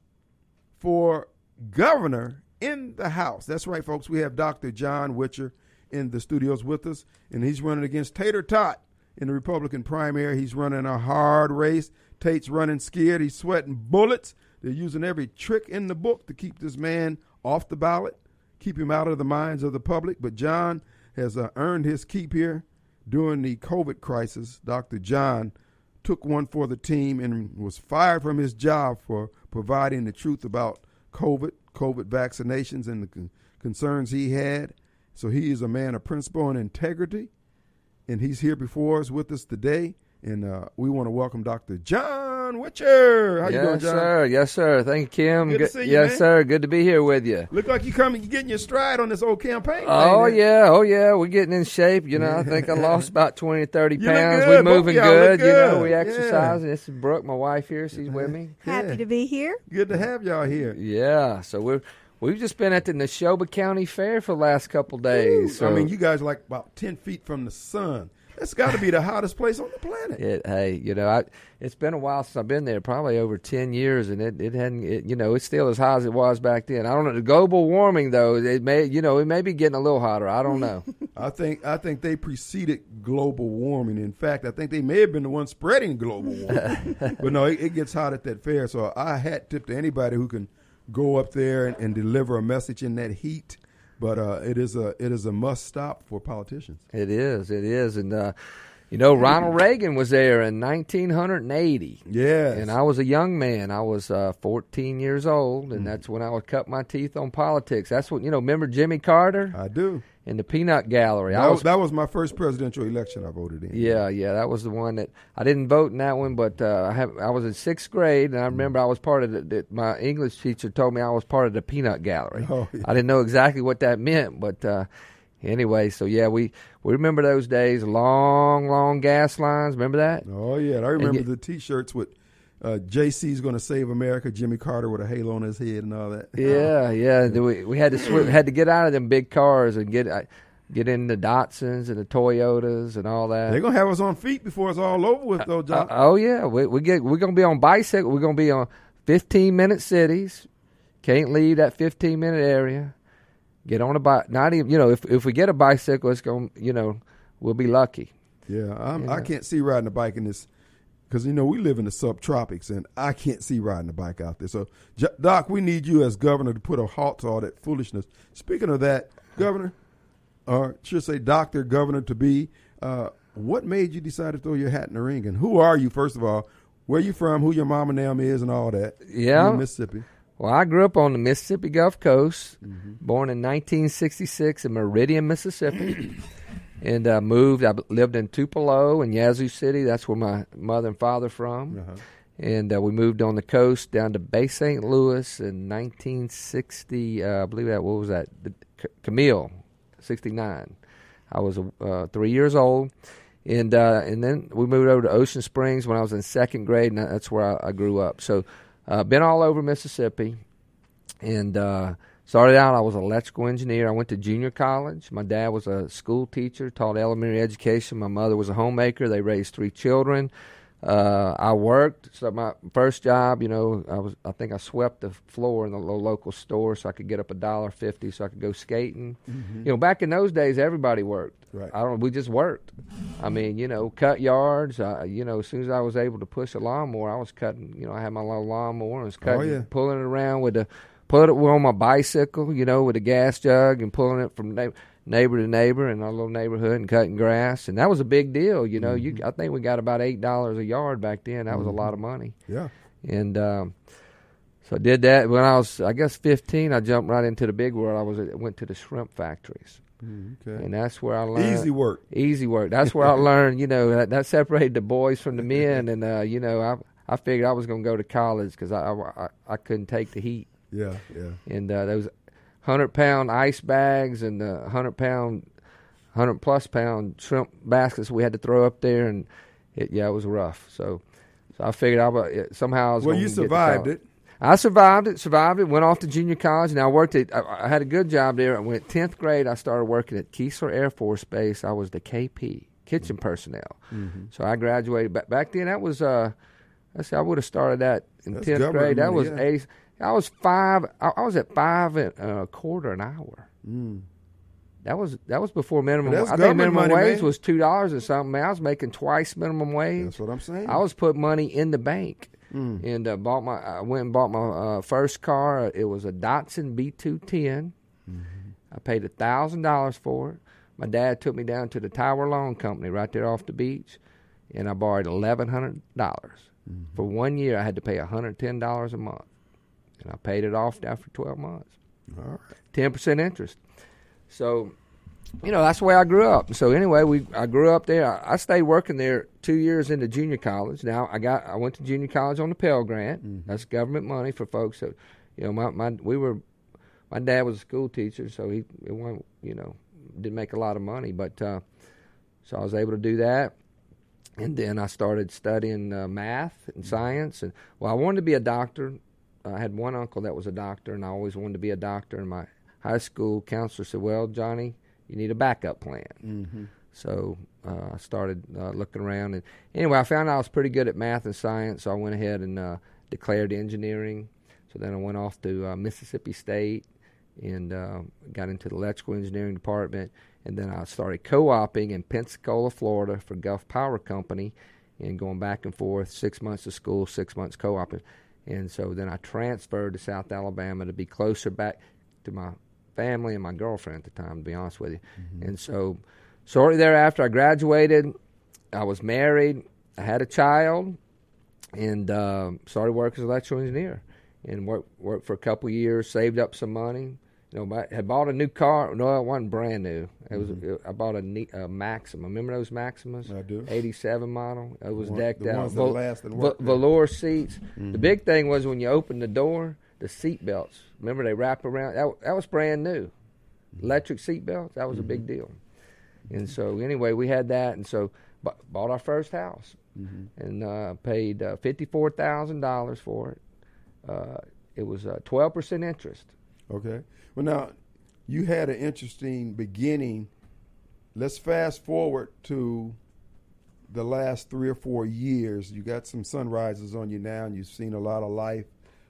for governor in the House. That's right, folks. We have Dr. John Witcher in the studios with us, and he's running against Tater Tot in the Republican primary. He's running a hard race. Tate's running scared. He's sweating bullets. They're using every trick in the book to keep this man off the ballot, keep him out of the minds of the public. But John has earned his keep here. During the COVID crisis, Dr. John took one for the team and was fired from his job for providing the truth about COVID vaccinations, and the concerns he had. So he is a man of principle and integrity, and he's here before us with us today. And we want to welcome Dr. John Witcher. How you doing, John? Yes, sir. Thank you, Kim. Good to see you, yes, man. Sir. Good to be here with you. Look like you're getting your stride on this old campaign. Oh, yeah. We're getting in shape. You know, I think I lost about 20 or 30 pounds. We're moving good. You know, we exercise. This is Brooke, my wife here. She's with me. Happy to be here. Good to have y'all here. Yeah. So we've just been at the Neshoba County Fair for the last couple days. So. I mean, you guys are like about 10 feet from the sun. It's got to be the hottest place on the planet. It's been a while since I've been there, probably over 10 years, and it hadn't. It's still as hot as it was back then. I don't know. The global warming though, it may be getting a little hotter. I don't know. I think they preceded global warming. In fact, I think they may have been the ones spreading global warming. But no, it gets hot at that fair. So I hat tip to anybody who can go up there and deliver a message in that heat. But it is a must stop for politicians. It is, and Ronald Reagan was there in 1980. Yes, and I was a young man. I was 14 years old, and that's when I would cut my teeth on politics. That's what remember Jimmy Carter? I do. In the Peanut Gallery. That was my first presidential election I voted in. Yeah, that was the one that I didn't vote in that one, but I was in 6th grade, and I remember I was part of my English teacher told me I was part of the Peanut Gallery. Oh, yeah. I didn't know exactly what that meant, but anyway, so yeah, we remember those days, long gas lines. Remember that? Oh yeah, I remember the T-shirts with JC's going to save America, Jimmy Carter with a halo on his head and all that. Yeah. We had to get out of them big cars and get in the Datsuns and the Toyotas and all that. They're going to have us on feet before it's all over with, though, John. Oh yeah, we're going to be on bicycle. We're going to be on 15-minute cities. Can't leave that 15-minute area. Get on a bike. Not even if we get a bicycle, it's going we'll be lucky. Yeah, I can't see riding a bike in this. Because, we live in the subtropics, and I can't see riding a bike out there. So, Doc, we need you as governor to put a halt to all that foolishness. Speaking of that, Governor, or should say Dr. Governor to be, What made you decide to throw your hat in the ring? And who are you, first of all? Where you from? Who your mama and them is and all that? Yeah. In Mississippi. Well, I grew up on the Mississippi Gulf Coast, born in 1966 in Meridian, Mississippi, and moved. I lived in Tupelo and Yazoo City. That's where my mother and father from. And we moved on the coast down to Bay St. Louis in 1960. I believe that, what was that? Camille, 69. I was 3 years old. And then we moved over to Ocean Springs when I was in second grade, and that's where I grew up. So been all over Mississippi, and started out, I was an electrical engineer. I went to junior college. My dad was a school teacher, taught elementary education. My mother was a homemaker. They raised 3 children. I worked. So my first job, I think I swept the floor in the local store so I could get up $1.50 so I could go skating. Back in those days, everybody worked. Right. We just worked. I mean, cut yards. As soon as I was able to push a lawnmower, I was cutting. I had my little lawnmower and was cutting, pulling it around put it on my bicycle, with a gas jug and pulling it from neighbor to neighbor in our little neighborhood and cutting grass. And that was a big deal. I think we got about $8 a yard back then. That was a lot of money. Yeah. And so I did that. When I was, 15, I jumped right into the big world. I went to the shrimp factories. Okay. And that's where I learned. Easy work. That's where I learned, that separated the boys from the men. And, I figured I was going to go to college because I couldn't take the heat. Yeah. And those 100-pound ice bags and the 100-plus pound shrimp baskets we had to throw up there. And, it was rough. So I figured somehow I was going to get to college. Well, you survived it. I survived it, went off to junior college, and I worked I had a good job there. I went 10th grade, I started working at Keesler Air Force Base. I was the KP, kitchen personnel. So I graduated. Back then, that was, I would have started that in 10th grade. That was I was at $5.25 an hour. That was before minimum. I think minimum wage was $2 or something. Man, I was making twice minimum wage. That's what I'm saying. I was putting money in the bank. And I went and bought my first car. It was a Datsun B210. I paid $1,000 for it. My dad took me down to the Tower Loan Company right there off the beach, and I borrowed $1,100. For 1 year, I had to pay $110 a month, and I paid it off after 12 months. All right. 10% interest. So, that's the way I grew up. So anyway, I grew up there. I stayed working there 2 years into junior college. Now I went to junior college on the Pell Grant. That's government money for folks that, my dad was a school teacher, so he didn't make a lot of money, but so I was able to do that. And then I started studying math and science. And I wanted to be a doctor. I had one uncle that was a doctor, and I always wanted to be a doctor. And my high school counselor said, "Well, Johnny, you need a backup plan." So I started looking around. And anyway, I found out I was pretty good at math and science, so I went ahead and declared engineering. So then I went off to Mississippi State and got into the electrical engineering department. And then I started co-oping in Pensacola, Florida for Gulf Power Company and going back and forth, 6 months to school, 6 months co-oping. And so then I transferred to South Alabama to be closer back to my family and my girlfriend at the time, to be honest with you. And so shortly thereafter, I graduated. I was married. I had a child and started working as an electrical engineer and worked for a couple of years, saved up some money. Had bought a new car. No, it wasn't brand new. It was. I bought a Maxima. Remember those Maximas? I do. 87 model. It was decked out. The ones that last and work. Velour seats. The big thing was when you opened the door, the seat belts. Remember they wrap around. That was brand new. Electric seat belts. That was a big deal. And so anyway, we had that, and so bought our first house, and paid $54,000 for it. It was 12% interest. Okay. Well, now, you had an interesting beginning. Let's fast forward to the last 3 or 4 years. You got some sunrises on you now, and you've seen a lot of life.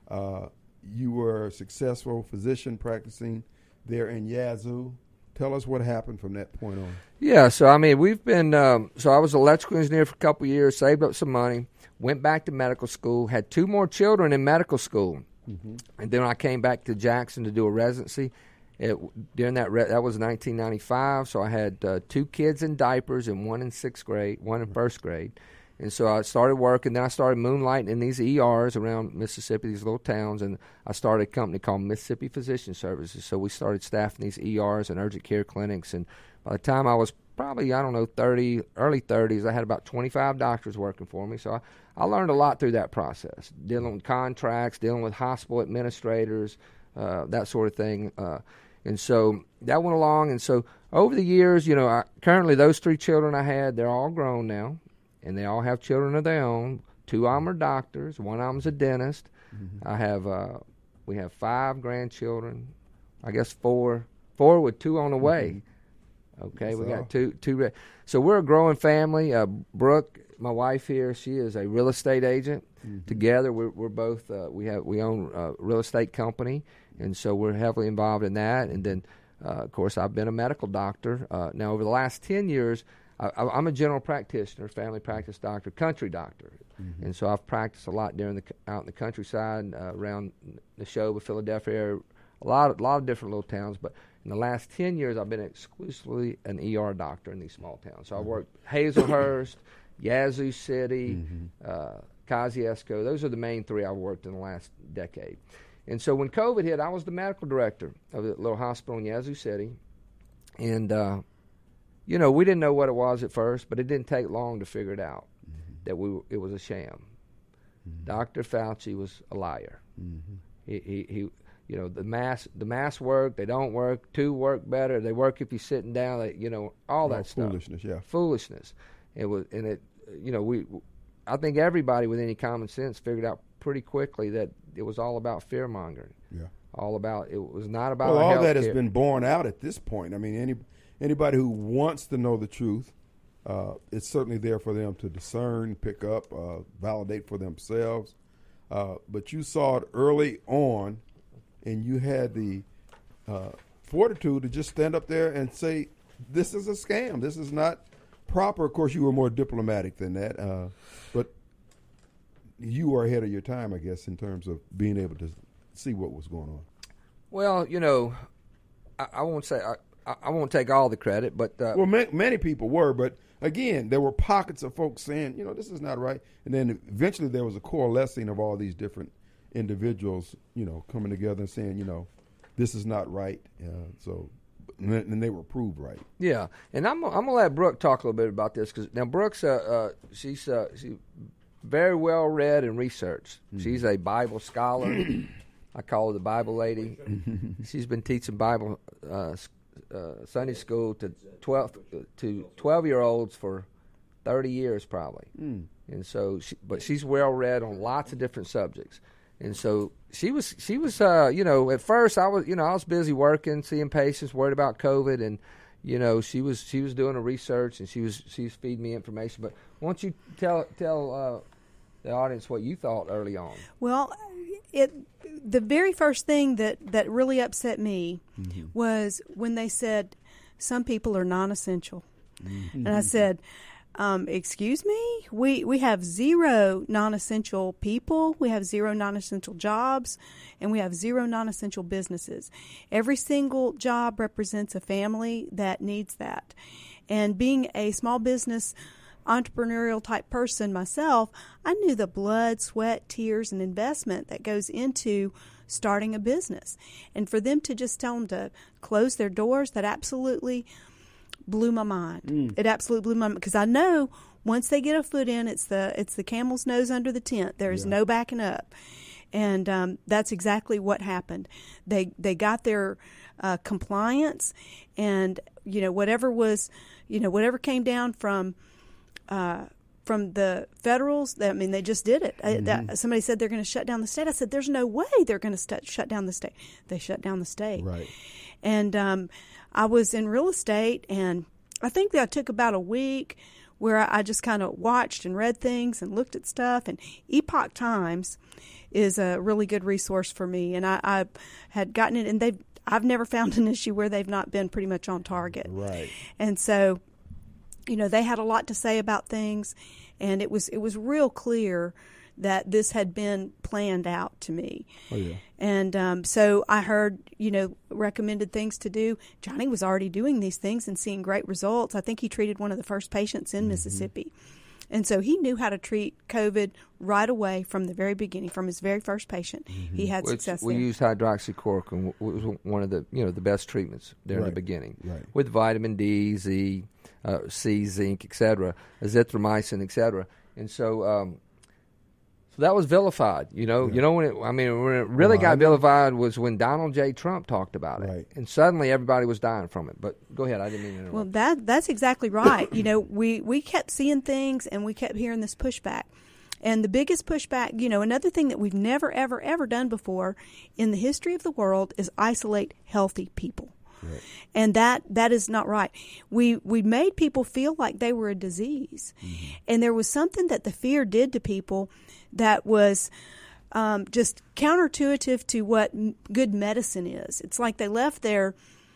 You were a successful physician practicing there in Yazoo. Tell us what happened from that point on. Yeah, so, I mean, we've been so I was an electrical engineer for a couple of years, saved up some money, went back to medical school, had 2 more children in medical school. And then I came back to Jackson to do a residency, During that was 1995, so I had 2 kids in diapers and 1 in 6th grade, 1 in 1st grade. And so I started working. Then I started moonlighting in these ERs around Mississippi, these little towns, and I started a company called Mississippi Physician Services. So we started staffing these ERs and urgent care clinics. And by the time I was probably, early 30s, I had about 25 doctors working for me. So I learned a lot through that process, dealing with contracts, dealing with hospital administrators, that sort of thing. And so that went along. And so over the years, currently those 3 children I had, they're all grown now. And they all have children of their own. 2 of them are doctors. 1 of them's a dentist. Mm-hmm. We have 5 grandchildren. I guess 4 with 2 on the way. Okay, we got two. So we're a growing family. Brooke, my wife here, she is a real estate agent. Mm-hmm. Together, we're both we own a real estate company, and so we're heavily involved in that. And then, of course, I've been a medical doctor. Now, over the last 10 years. I'm a general practitioner, family practice doctor, country doctor, and so I've practiced a lot out in the countryside, around the Neshoba, Philadelphia area, a lot of different little towns. But in the last 10 years, I've been exclusively an ER doctor in these small towns. So I worked Hazelhurst, Yazoo City, Kosciuszko. Those are the main 3 I've worked in the last decade. And so when COVID hit, I was the medical director of the little hospital in Yazoo City, and we didn't know what it was at first, but it didn't take long to figure it out that it was a sham. Dr. Fauci was a liar. He the masks work, they don't work. 2 work better. They work if you're sitting down. All that stuff. Foolishness, yeah. Foolishness. I think everybody with any common sense figured out pretty quickly that it was all about fear mongering. Yeah. It was not about. Well, all that has been borne out at this point. I mean, anybody who wants to know the truth, it's certainly there for them to discern, pick up, validate for themselves. But you saw it early on, and you had the fortitude to just stand up there and say, this is a scam. This is not proper. Of course, you were more diplomatic than that. But you were ahead of your time, I guess, in terms of being able to see what was going on. Well, I won't say I won't take all the credit, but many people were. But again, there were pockets of folks saying, this is not right, and then eventually there was a coalescing of all these different individuals, coming together and saying, this is not right. And they were proved right. Yeah, and I'm gonna let Brooke talk a little bit about this because now Brooke's she's very well read and researched. Mm-hmm. She's a Bible scholar. I call her the Bible lady. She's been teaching Bible Sunday school to 12-year-olds for 30 years probably. And so but she's well read on lots of different subjects. And so she was at first I was busy working, seeing patients, worried about COVID, and she was doing a research and she was feeding me information. But why don't you tell the audience what you thought early on? Well, the very first thing that really upset me was when they said some people are non-essential. And I said, excuse me? We have 0 non-essential people, we have 0 non-essential jobs, and we have 0 non-essential businesses. Every single job represents a family that needs that. And being a small business entrepreneurial type person myself, I knew the blood, sweat, tears, and investment that goes into starting a business. And for them to just tell them to close their doors, that absolutely blew my mind. It absolutely blew my mind because I know once they get a foot in, it's the camel's nose under the tent. There is no backing up. And that's exactly what happened. They got their compliance, and whatever came down from the federals, they just did it. Somebody said they're going to shut down the state. I said, there's no way they're going to shut down the state. They shut down the state. Right. And I was in real estate, and I think that I took about a week where I just kind of watched and read things and looked at stuff. And Epoch Times is a really good resource for me. And I had gotten it, and I've never found an issue where they've not been pretty much on target. Right. And so, they had a lot to say about things, and it was real clear that this had been planned out to me. Oh, yeah. And so I heard, recommended things to do. Johnny was already doing these things and seeing great results. I think he treated one of the first patients in Mississippi. And so he knew how to treat COVID right away from the very beginning, from his very first patient. He had success we there. used hydroxychloroquine. It was one of the the best treatments there in the beginning, with vitamin D, Z, C, zinc, etc., azithromycin, etc. And so that was vilified. When it really got vilified was when Donald J. Trump talked about it, and suddenly everybody was dying from it. But go ahead, I didn't mean to interrupt. Well, that's exactly right. We kept seeing things and we kept hearing this pushback. And the biggest pushback, another thing that we've never, ever, ever done before in the history of the world is isolate healthy people. Right. And that is not right. We made people feel like they were a disease. And there was something that the fear did to people that was just counterintuitive to what good medicine is. It's like they left their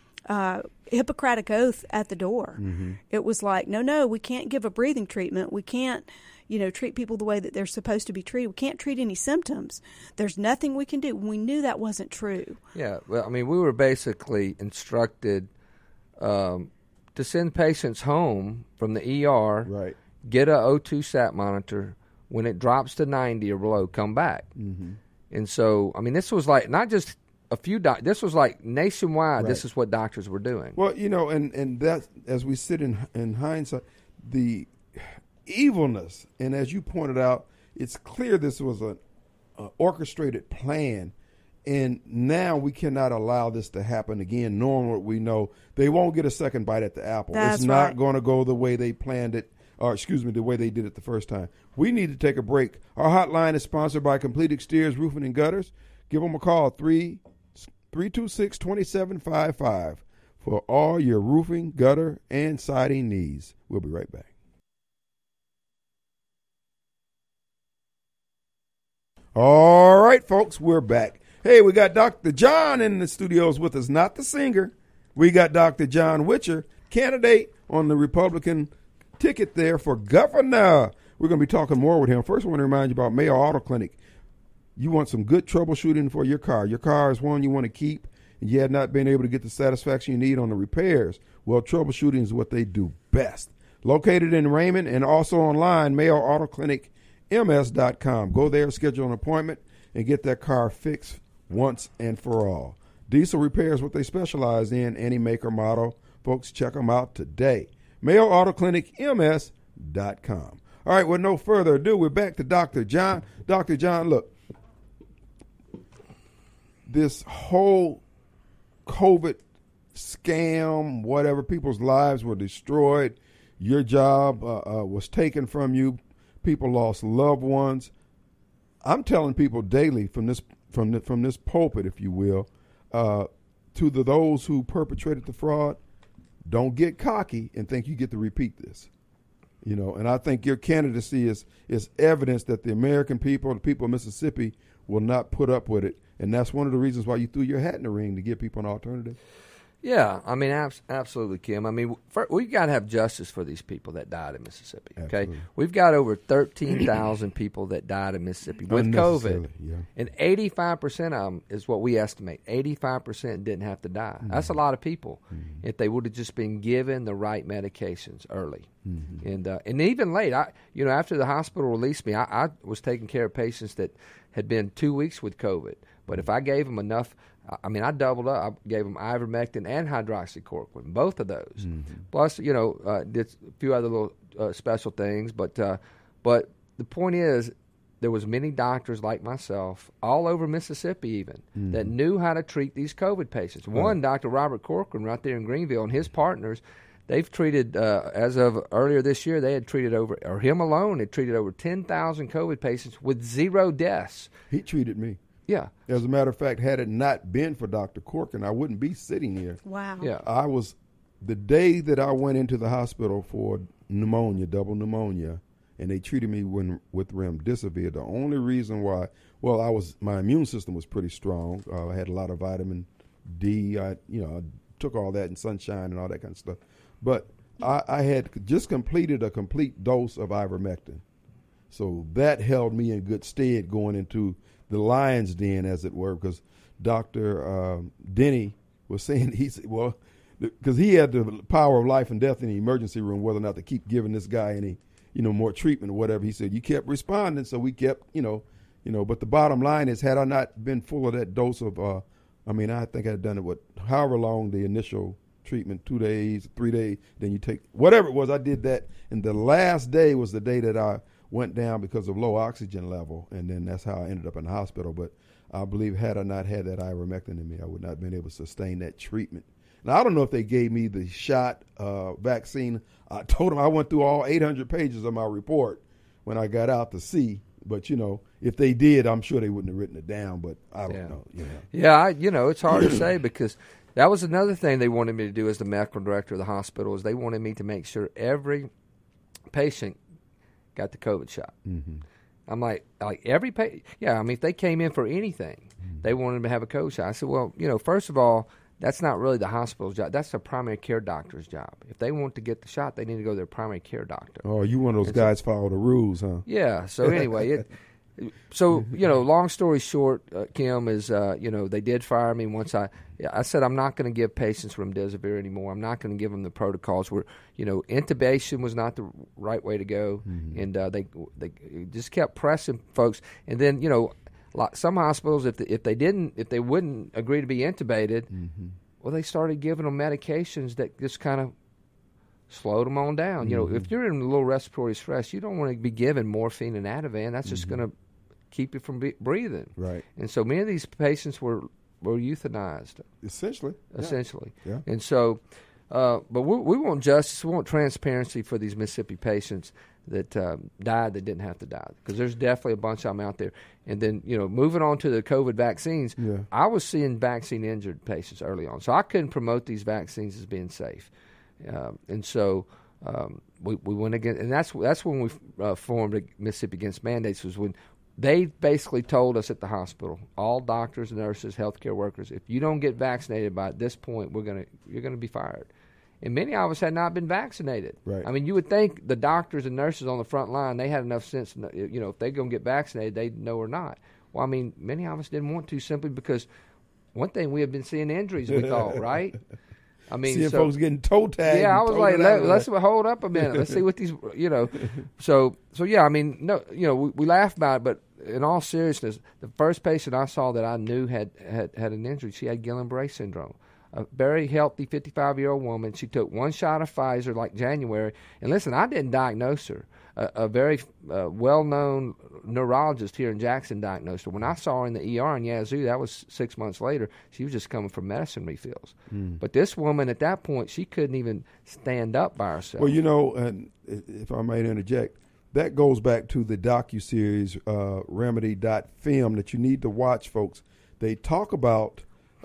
Hippocratic oath at the door. It was like, no, we can't give a breathing treatment. We can't, treat people the way that they're supposed to be treated. We can't treat any symptoms. There's nothing we can do. We knew that wasn't true. Yeah, well, we were basically instructed to send patients home from the ER, get a O2 sat monitor. When it drops to 90 or below, come back. And so, this was like not just a few this was like nationwide. This is what doctors were doing. Well, and that, as we sit in hindsight, the evilness, and as you pointed out, it's clear this was an orchestrated plan, and now we cannot allow this to happen again, knowing what we know. They won't get a second bite at the apple. That's it's not going to go the way they planned it, the way they did it the first time. We need to take a break. Our hotline is sponsored by Complete Exteriors Roofing and Gutters. Give them a call, 326-2755 for all your roofing, gutter, and siding needs. We'll be right back. All right, folks, we're back. Hey, we got Dr. John in the studios with us, not the singer. We got Dr. John Witcher, candidate on the Republican ticket there for governor. We're going to be talking more with him. First, I want to remind you about Mayo Auto Clinic. You want some good troubleshooting for your car. Your car is one you want to keep, and you have not been able to get the satisfaction you need on the repairs. Well, troubleshooting is what they do best. Located in Raymond and also online, MayoAutoClinicMS.com. Go there, schedule an appointment, and get that car fixed once and for all. Diesel repair is what they specialize in, any make or model. Folks, check them out today. MayoAutoClinicMS.com. All right, with no further ado, we're back to Dr. John. Dr. John, look, this whole COVID scam, whatever, people's lives were destroyed. Your job was taken from you. People lost loved ones. I'm telling people daily from this pulpit, if you will, to those who perpetrated the fraud, don't get cocky and think you get to repeat this. And I think your candidacy is evidence that the American people, the people of Mississippi, will not put up with it. And that's one of the reasons why you threw your hat in the ring, to give people an alternative. Yeah, absolutely, Kim. We've got to have justice for these people that died in Mississippi. Okay, Absolutely. We've got over 13,000 people that died in Mississippi with COVID, and 85% of them is what we estimate. 85% didn't have to die. That's a lot of people if they would have just been given the right medications early. And even late. After the hospital released me, I was taking care of patients that had been 2 weeks with COVID. But if I gave them enough, I doubled up. I gave them ivermectin and hydroxychloroquine, both of those. Plus, did a few other little special things. But the point is, there was many doctors like myself all over Mississippi even that knew how to treat these COVID patients. One, Dr. Robert Corcoran right there in Greenville, and his partners, they've treated, as of earlier this year, they had treated him alone had treated over 10,000 COVID patients with 0 deaths. He treated me. Yeah. As a matter of fact, had it not been for Dr. Corcoran, I wouldn't be sitting here. Wow. Yeah. I was, the day that I went into the hospital for pneumonia, double pneumonia, and they treated me with remdesivir. The only reason why, my immune system was pretty strong. I had a lot of vitamin D. I took all that in sunshine and all that kind of stuff. But I had just completed a complete dose of ivermectin. So that held me in good stead going into the lion's den, as it were, because Dr. Denny was saying, he said, well, because he had the power of life and death in the emergency room, whether or not to keep giving this guy any, more treatment or whatever. He said, you kept responding, so we kept, but the bottom line is, had I not been full of that dose of, I think I had done it, however long the initial treatment, 2 days, 3 days, then you take, whatever it was, I did that. And the last day was the day that I went down because of low oxygen level, and then that's how I ended up in the hospital. But I believe had I not had that ivermectin in me, I would not have been able to sustain that treatment. Now, I don't know if they gave me the shot vaccine. I told them I went through all 800 pages of my report when I got out to see. But, if they did, I'm sure they wouldn't have written it down. But I don't know. Yeah, it's hard to say because that was another thing they wanted me to do as the medical director of the hospital is they wanted me to make sure every patient got the COVID shot. Mm-hmm. I'm like every patient. Yeah, if they came in for anything, they wanted to have a COVID shot. I said, well, first of all, that's not really the hospital's job. That's the primary care doctor's job. If they want to get the shot, they need to go to their primary care doctor. Oh, you one of those guys follow the rules, huh? Yeah. So anyway, long story short, Kim, is, they did fire me once I said I'm not going to give patients remdesivir anymore. I'm not going to give them the protocols where, intubation was not the right way to go. Mm-hmm. And they just kept pressing folks. And then, some hospitals, if they wouldn't agree to be intubated, mm-hmm. well, they started giving them medications that just kind of slowed them on down. Mm-hmm. If you're in a low respiratory stress, you don't want to be given morphine and Ativan. That's just going to keep you from breathing. Right. And so many of these patients were euthanized. Essentially. Yeah. And so, but we want justice. We want transparency for these Mississippi patients that died that didn't have to die, because there's definitely a bunch of them out there. And then, moving on to the COVID vaccines, I was seeing vaccine-injured patients early on. So I couldn't promote these vaccines as being safe. And so we went against, and that's when we formed Mississippi Against Mandates, was when they basically told us at the hospital, all doctors, nurses, healthcare workers, if you don't get vaccinated by this point, you're gonna be fired. And many of us had not been vaccinated. Right. You would think the doctors and nurses on the front line, they had enough sense, if they're going to get vaccinated, they'd know or not. Well, many of us didn't want to, simply because one thing, we have been seeing injuries, we thought, right? Seeing folks getting toe tagged. Yeah, I was like, let's hold up a minute. Let's see what these, So yeah, we laugh about it, but in all seriousness, the first patient I saw that I knew had an injury, she had Guillain-Barré syndrome. A very healthy 55-year-old woman. She took one shot of Pfizer like January. And listen, I didn't diagnose her. A very well-known neurologist here in Jackson diagnosed her. When I saw her in the ER in Yazoo, that was 6 months later, she was just coming from medicine refills. Mm. But this woman at that point, she couldn't even stand up by herself. Well, and if I might interject, that goes back to the docuseries Remedy.film that you need to watch, folks. They talk about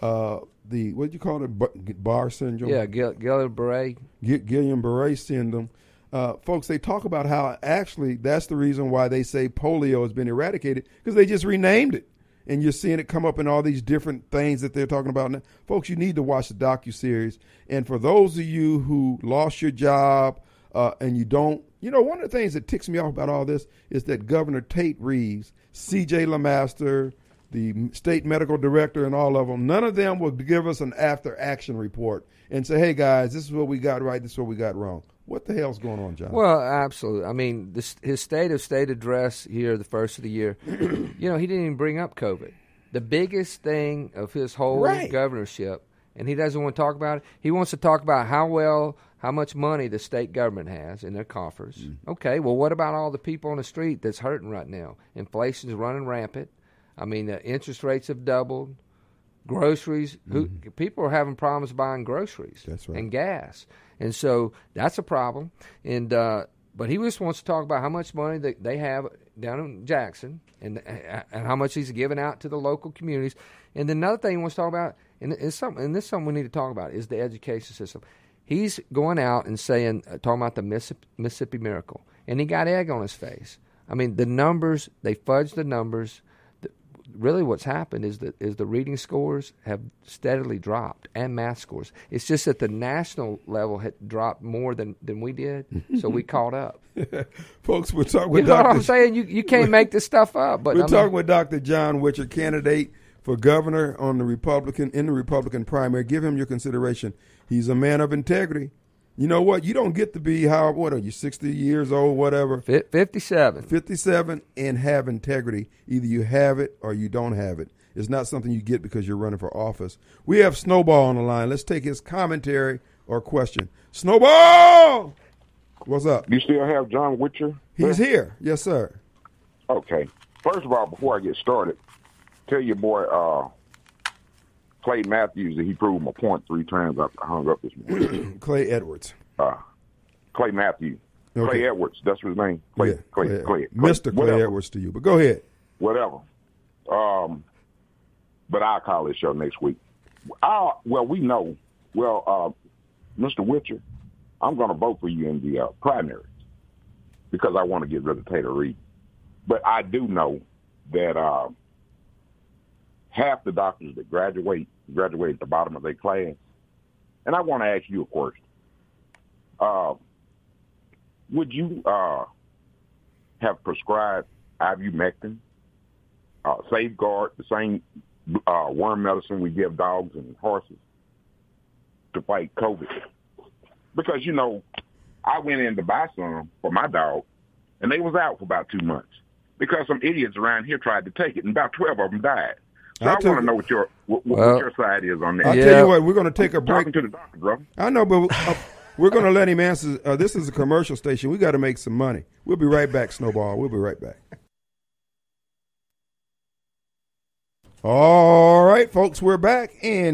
what do you call it, Barr syndrome? Yeah, Guillain-Barré. Guillain-Barré syndrome. Folks, they talk about how actually that's the reason why they say polio has been eradicated, because they just renamed it. And you're seeing it come up in all these different things that they're talking about now. Folks, you need to watch the docuseries. And for those of you who lost your job and you don't, one of the things that ticks me off about all this is that Governor Tate Reeves, C.J. LeMaster, the state medical director, and all of them, none of them will give us an after-action report and say, hey, guys, this is what we got right, this is what we got wrong. What the hell's going on, John? Well, absolutely. His state address here, the first of the year, he didn't even bring up COVID. The biggest thing of his whole governorship, and he doesn't want to talk about it, he wants to talk about how much money the state government has in their coffers. Mm. Okay, well, what about all the people on the street that's hurting right now? Inflation's running rampant. The interest rates have doubled. Groceries, people are having problems buying groceries. That's right. And gas. And so that's a problem. And but he just wants to talk about how much money that they have down in Jackson and how much he's giving out to the local communities. And then another thing he wants to talk about, and this is something we need to talk about, is the education system. He's going out and saying, talking about the Mississippi Miracle. And he got egg on his face. The numbers, they fudged the numbers. really what's happened is that the reading scores have steadily dropped, and math scores. It's just that the national level had dropped more than we did, so we caught up. Folks, we're talking with Dr. You know what I'm saying? You can't make this stuff up. But we're talking with Dr. John Witcher, candidate for governor in the Republican primary. Give him your consideration. He's a man of integrity. You know what? You don't get to be, what are you, 60 years old, whatever? 57. 57 and have integrity. Either you have it or you don't have it. It's not something you get because you're running for office. We have Snowball on the line. Let's take his commentary or question. Snowball! What's up? You still have John Witcher? He's here. Yes, sir. Okay. First of all, before I get started, tell your boy Clay Matthews that he proved my point 3 times. I hung up this morning. Clay Edwards. Clay Matthews. Okay. Clay Edwards. That's his name. Clay. Mr. Clay Edwards to you. But go ahead. Whatever. But I'll call this show next week. We know. Mr. Witcher, I'm going to vote for you in the primaries because I want to get rid of Tater Reid. But I do know that half the doctors that graduate at the bottom of their class. And I want to ask you a question. Would you have prescribed ivermectin, Safeguard, the same worm medicine we give dogs and horses to fight COVID? Because, I went in to buy some for my dog, and they was out for about 2 months because some idiots around here tried to take it, and about 12 of them died. So I want to know what your side is on that. I'll tell you what, we're going to take a break. Talking to the doctor, bro. I know, but we're going to let him answer. This is a commercial station. We got to make some money. We'll be right back, Snowball. We'll be right back. All right, folks, we're back, and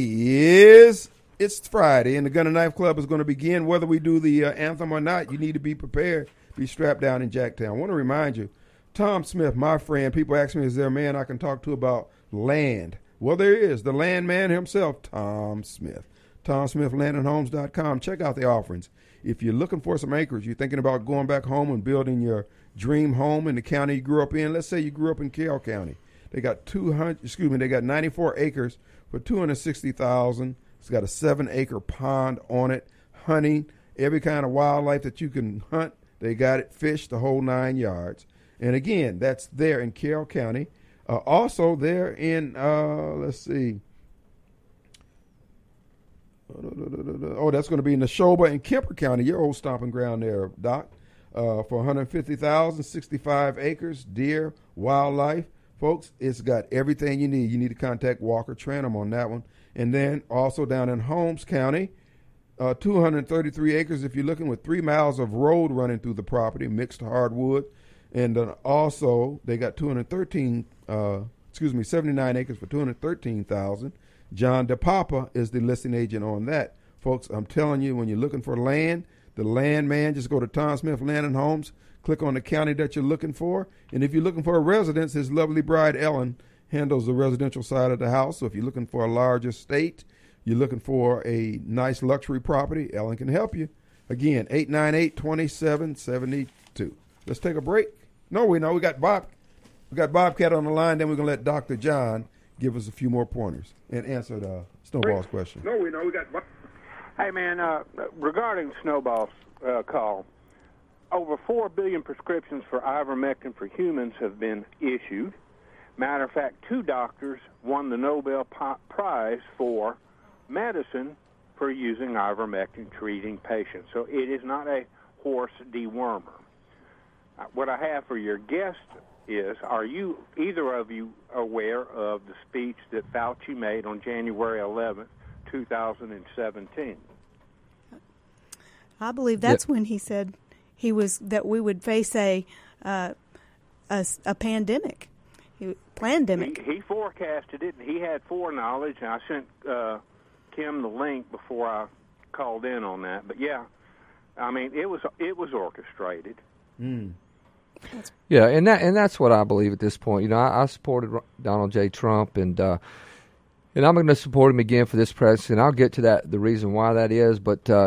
it's Friday, and the Gun and Knife Club is going to begin. Whether we do the anthem or not, you need to be prepared. Be strapped down in Jacktown. I want to remind you, Tom Smith, my friend, people ask me, is there a man I can talk to about land? Well, there is. The land man himself, Tom Smith. TomSmithLandandHomes.com. Check out the offerings. If you're looking for some acreage, you're thinking about going back home and building your dream home in the county you grew up in. Let's say you grew up in Carroll County. They got 94 acres for $260,000. It's got a 7-acre pond on it, hunting, every kind of wildlife that you can hunt. They got it, fish, the whole 9 yards. And again, that's there in Carroll County. Also there in, let's see. That's going to be in Neshoba and Kemper County, your old stomping ground there, Doc, for $150,000, 65 acres, deer, wildlife. Folks, it's got everything you need. You need to contact Walker Tranum on that one. And then also down in Holmes County, 233 acres if you're looking, with 3 miles of road running through the property, mixed hardwood. And then also they got 79 acres for $213,000. John DePapa is the listing agent on that. Folks, I'm telling you, when you're looking for land, the land man, just go to Tom Smith Land and Homes, click on the county that you're looking for. And if you're looking for a residence, his lovely bride, Ellen, handles the residential side of the house. So if you're looking for a large estate, you're looking for a nice luxury property, Ellen can help you. Again, 898-2772. Let's take a break. No, we got Bobcat on the line. Then we're going to let Dr. John give us a few more pointers and answer the Snowball's question. No, we got. Hey, man, regarding Snowball's call, over 4 billion prescriptions for ivermectin for humans have been issued. Matter of fact, 2 doctors won the Nobel Prize for medicine for using ivermectin treating patients. So it is not a horse dewormer. What I have for your guest is, are you, either of you, aware of the speech that Fauci made on January 11th, 2017? I believe that's when he said that we would face a pandemic. Plandemic. He forecasted it, and he had foreknowledge, and I sent Kim the link before I called in on that. But yeah, I mean, it was orchestrated. Mm. Yeah, and that's what I believe at this point. I supported Donald J. Trump, and I'm going to support him again for this presidency. And I'll get to the reason why that is. But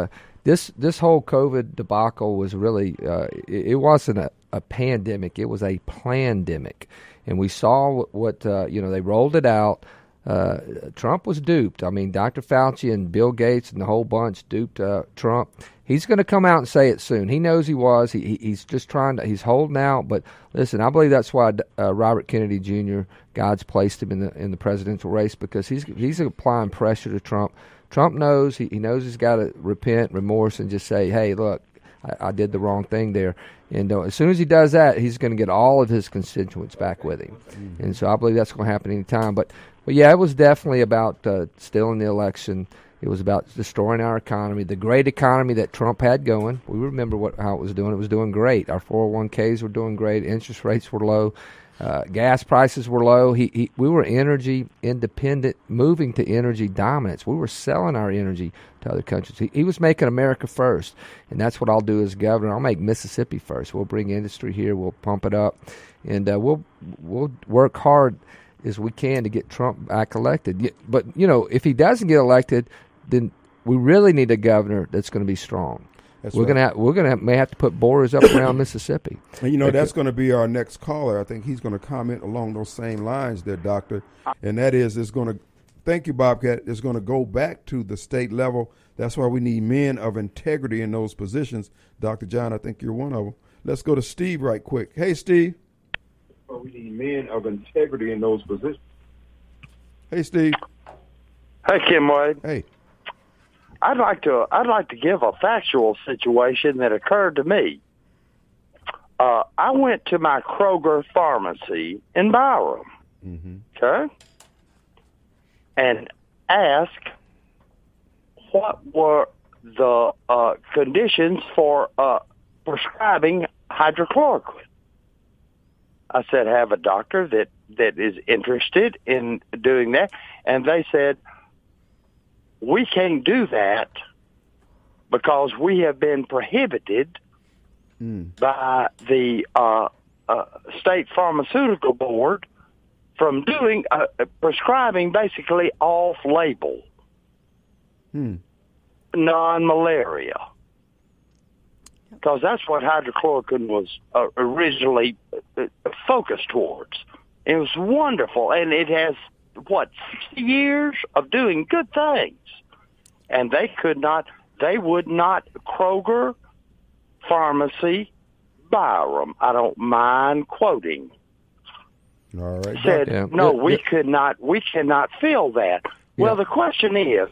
this whole COVID debacle was really it wasn't a pandemic. It was a plandemic. And we saw what they rolled it out. Trump was duped. I mean, Dr. Fauci and Bill Gates and the whole bunch duped Trump. He's going to come out and say it soon. He knows he was. He's just trying to. He's holding out. But listen, I believe that's why Robert Kennedy Jr. God's placed him in the presidential race, because he's applying pressure to Trump. Trump knows he knows he's got to repent, remorse, and just say, hey, look, I did the wrong thing there. And as soon as he does that, he's going to get all of his constituents back with him. Mm-hmm. And so I believe that's going to happen any time. But yeah, it was definitely about stealing the election. It was about destroying our economy, the great economy that Trump had going. We remember how it was doing. It was doing great. Our 401ks were doing great. Interest rates were low. Gas prices were low. We were energy independent, moving to energy dominance. We were selling our energy to other countries. He was making America first, and that's what I'll do as governor. I'll make Mississippi first. We'll bring industry here. We'll pump it up, and we'll work hard as we can to get Trump back elected. But if he doesn't get elected, then we really need a governor that's going to be strong. We're gonna may have to put borders up around Mississippi. And that's going to be our next caller. I think he's going to comment along those same lines there, Doctor. And that is, it's going to. Thank you, Bobcat. It's going to go back to the state level. That's why we need men of integrity in those positions. Dr. John, I think you're one of them. Let's go to Steve right quick. Hey, Steve. Well, we need men of integrity in those positions. Hey, Steve. Hey, Kim Wade. Hey. I'd like to give a factual situation that occurred to me. I went to my Kroger pharmacy in Byram, okay, and asked what were the conditions for prescribing hydrochloroquine. I said, have a doctor that is interested in doing that, and they said, we can't do that because we have been prohibited by the state pharmaceutical board from doing prescribing basically off-label non-malaria, because that's what hydrochloroquine was originally focused towards. It was wonderful, and it has 60 years of doing good things. And they would not, Kroger Pharmacy, Byram, I don't mind quoting, all right, said, we cannot fill that. Well, the question is,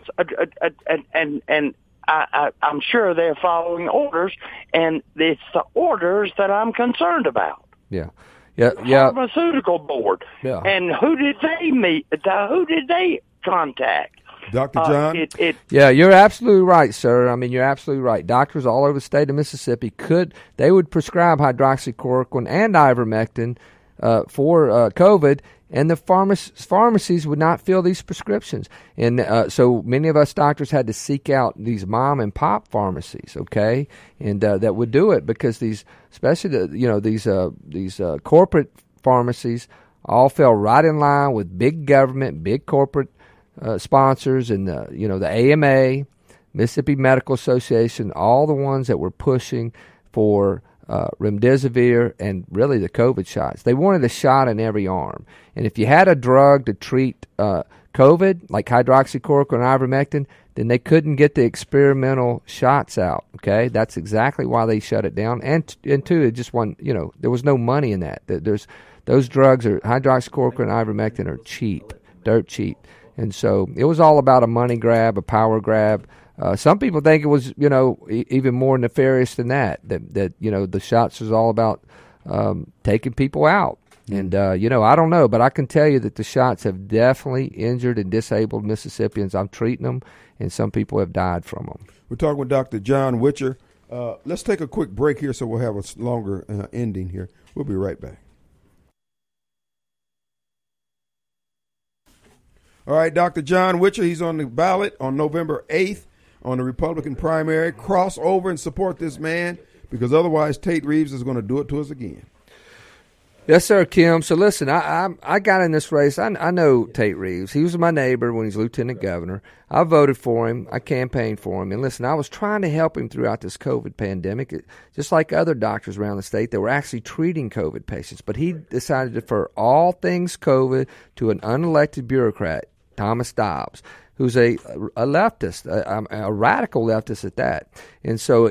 and I'm sure they're following orders, and it's the orders that I'm concerned about. Yeah. Pharmaceutical board. Yeah. And who did they meet? Who did they contact? Dr. John? Yeah, you're absolutely right, sir. I mean, you're absolutely right. Doctors all over the state of Mississippi would prescribe hydroxychloroquine and ivermectin for COVID, and the pharmacies would not fill these prescriptions. And so many of us doctors had to seek out these mom and pop pharmacies, okay, and that would do it, because these, especially these corporate pharmacies, all fell right in line with big government, big corporate sponsors, and the AMA, Mississippi Medical Association, all the ones that were pushing for remdesivir and really the COVID shots. They wanted a shot in every arm. And if you had a drug to treat COVID, like hydroxychloroquine and ivermectin, then they couldn't get the experimental shots out. Okay, that's exactly why they shut it down. And two, it just there was no money in that. Those drugs hydroxychloroquine and ivermectin are cheap, dirt cheap. And so it was all about a money grab, a power grab. Some people think it was, even more nefarious than that. That the shots was all about taking people out. And I don't know, but I can tell you that the shots have definitely injured and disabled Mississippians. I'm treating them, and some people have died from them. We're talking with Dr. John Witcher. Let's take a quick break here, so we'll have a longer ending here. We'll be right back. All right, Dr. John Witcher, he's on the ballot on November 8th on the Republican primary. Cross over and support this man, because otherwise Tate Reeves is going to do it to us again. Yes, sir, Kim. So listen, I got in this race. I know Tate Reeves. He was my neighbor when he was lieutenant governor. I voted for him. I campaigned for him. And listen, I was trying to help him throughout this COVID pandemic, just like other doctors around the state that were actually treating COVID patients. But he decided to defer all things COVID to an unelected bureaucrat, Thomas Dobbs, who's a leftist, a radical leftist at that. And so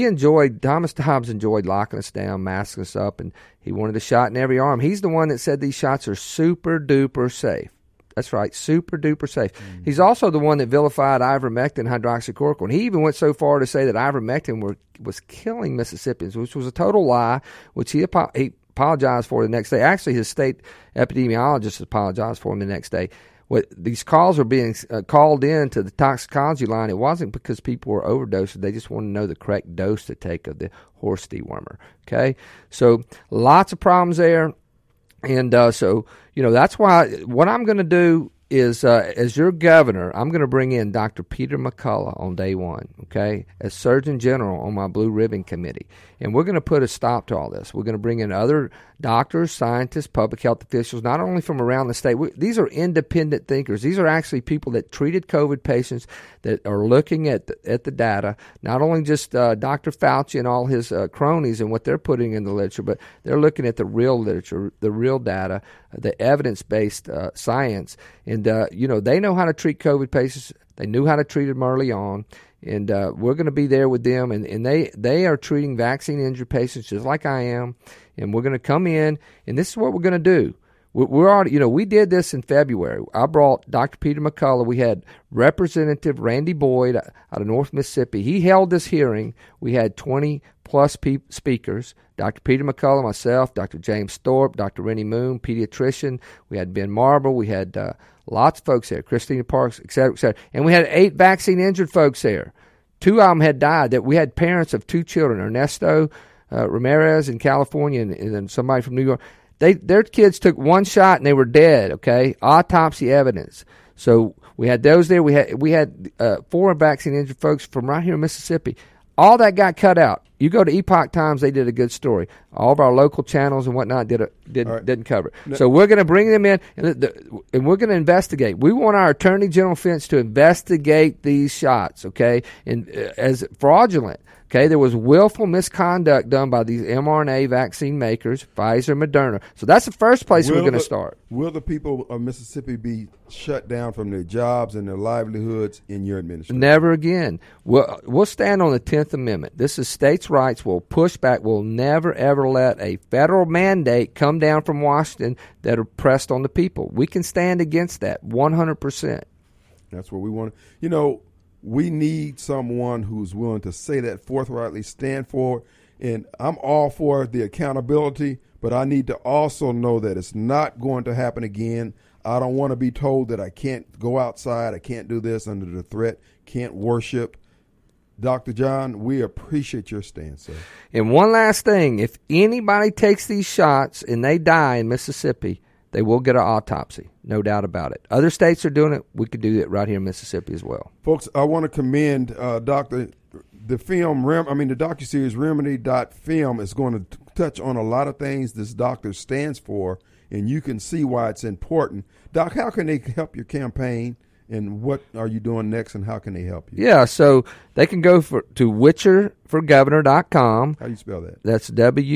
Thomas Dobbs enjoyed locking us down, masking us up, and he wanted a shot in every arm. He's the one that said these shots are super duper safe. That's right, super duper safe. Mm-hmm. He also the one that vilified ivermectin, hydroxychloroquine. He even went so far to say that ivermectin was killing Mississippians, which was a total lie, which he apologized for the next day. Actually, his state epidemiologist apologized for him the next day. These calls were being called in to the toxicology line. It wasn't because people were overdosing. They just wanted to know the correct dose to take of the horse dewormer. Okay? So lots of problems there. And so, that's why what I'm going to do is, as your governor, I'm going to bring in Dr. Peter McCullough on day one, okay, as Surgeon General on my Blue Ribbon Committee. And we're going to put a stop to all this. We're going to bring in other doctors, scientists, public health officials, not only from around the state. These are independent thinkers. These are actually people that treated COVID patients that are looking at the data, not only just Dr. Fauci and all his cronies and what they're putting in the literature, but they're looking at the real literature, the real data, the evidence-based science. And, they know how to treat COVID patients. They knew how to treat them early on. And we're going to be there with them. And they are treating vaccine-injured patients just like I am. And we're going to come in, and this is what we're going to do. We're already, we did this in February. I brought Dr. Peter McCullough. We had Representative Randy Boyd out of North Mississippi. He held this hearing. We had 20-plus speakers. Dr. Peter McCullough, myself, Dr. James Thorpe, Dr. Rennie Moon, pediatrician. We had Ben Marble. We had lots of folks there, Christina Parks, et cetera, et cetera. And we had 8 vaccine-injured folks there. 2 of them had died. That we had parents of 2 children, Ernesto Ramirez in California and then somebody from New York. Their kids took 1 shot and they were dead, okay? Autopsy evidence. So we had those there. We had 4 vaccine-injured folks from right here in Mississippi. All that got cut out. You go to Epoch Times, they did a good story. All of our local channels and whatnot didn't cover it. No. So we're going to bring them in, and we're going to investigate. We want our Attorney General Finch to investigate these shots, okay, and as fraudulent. Okay, there was willful misconduct done by these mRNA vaccine makers, Pfizer, Moderna. So that's the first place we're going to start. Will the people of Mississippi be shut down from their jobs and their livelihoods in your administration? Never again. We'll stand on the 10th Amendment. This is states' rights. We'll push back. We'll never, ever let a federal mandate come down from Washington that are pressed on the people. We can stand against that 100%. That's what we want. We need someone who's willing to say that forthrightly, stand for it. And I'm all for the accountability, but I need to also know that it's not going to happen again. I don't want to be told that I can't go outside, I can't do this under the threat, can't worship. Dr. John, we appreciate your stance, sir. And one last thing, if anybody takes these shots and they die in Mississippi, they will get an autopsy, no doubt about it. Other states are doing it. We could do it right here in Mississippi as well. Folks, I want to commend the docuseries Remedy.film is going to touch on a lot of things this doctor stands for, and you can see why it's important. Doc, how can they help your campaign, and what are you doing next, and how can they help you? Yeah, so they can go to WitcherForGovernor.com. How do you spell that? That's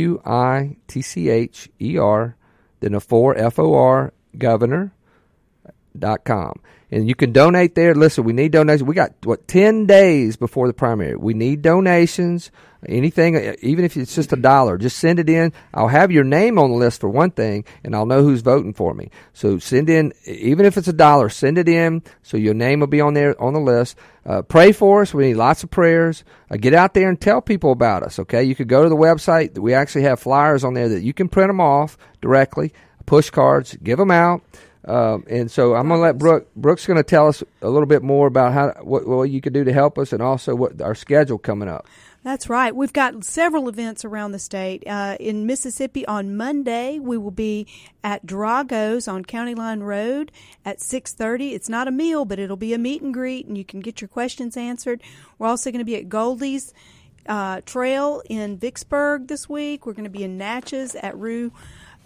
WITCHER. Then a 4, FOR, governor.com. And you can donate there. Listen, we need donations. We got, 10 days before the primary. We need donations, anything, even if it's just $1. Just send it in. I'll have your name on the list for one thing, and I'll know who's voting for me. So send in, even if it's $1, send it in so your name will be on there on the list. Pray for us. We need lots of prayers. Get out there and tell people about us, okay? You could go to the website. We actually have flyers on there that you can print them off directly, push cards, give them out. And so I'm going to let Brooke's going to tell us a little bit more about what you could do to help us, and also what our schedule coming up. That's right. We've got several events around the state. In Mississippi on Monday, we will be at Drago's on County Line Road at 6:30. It's not a meal, but it'll be a meet and greet, and you can get your questions answered. We're also going to be at Goldie's Trail in Vicksburg this week. We're going to be in Natchez at Rue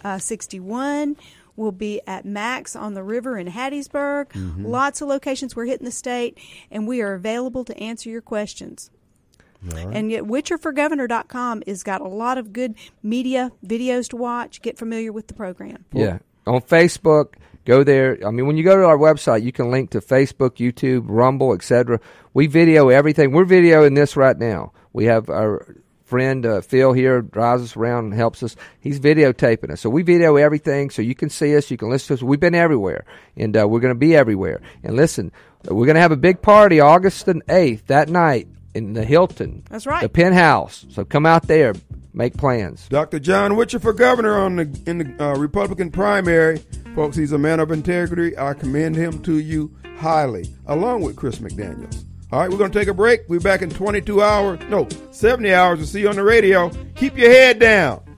61. We'll be at Max on the River in Hattiesburg. Mm-hmm. Lots of locations. We're hitting the state, and we are available to answer your questions. Right. And yet, WitcherForGovernor.com has got a lot of good media videos to watch. Get familiar with the program. Yeah. On Facebook, go there. I mean, when you go to our website, you can link to Facebook, YouTube, Rumble, etc. We video everything. We're videoing this right now. We have our friend Phil here drives us around and helps us. He's videotaping us. So we video everything so you can see us, you can listen to us. We've been everywhere, and we're going to be everywhere. And listen, we're going to have a big party August the 8th, that night, in the Hilton. That's right. The Penthouse. So come out there, make plans. Dr. John Witcher for governor in the Republican primary. Folks, he's a man of integrity. I commend him to you highly, along with Chris McDaniels. All right, we're going to take a break. We'll be back in 70 hours to see you on the radio. Keep your head down.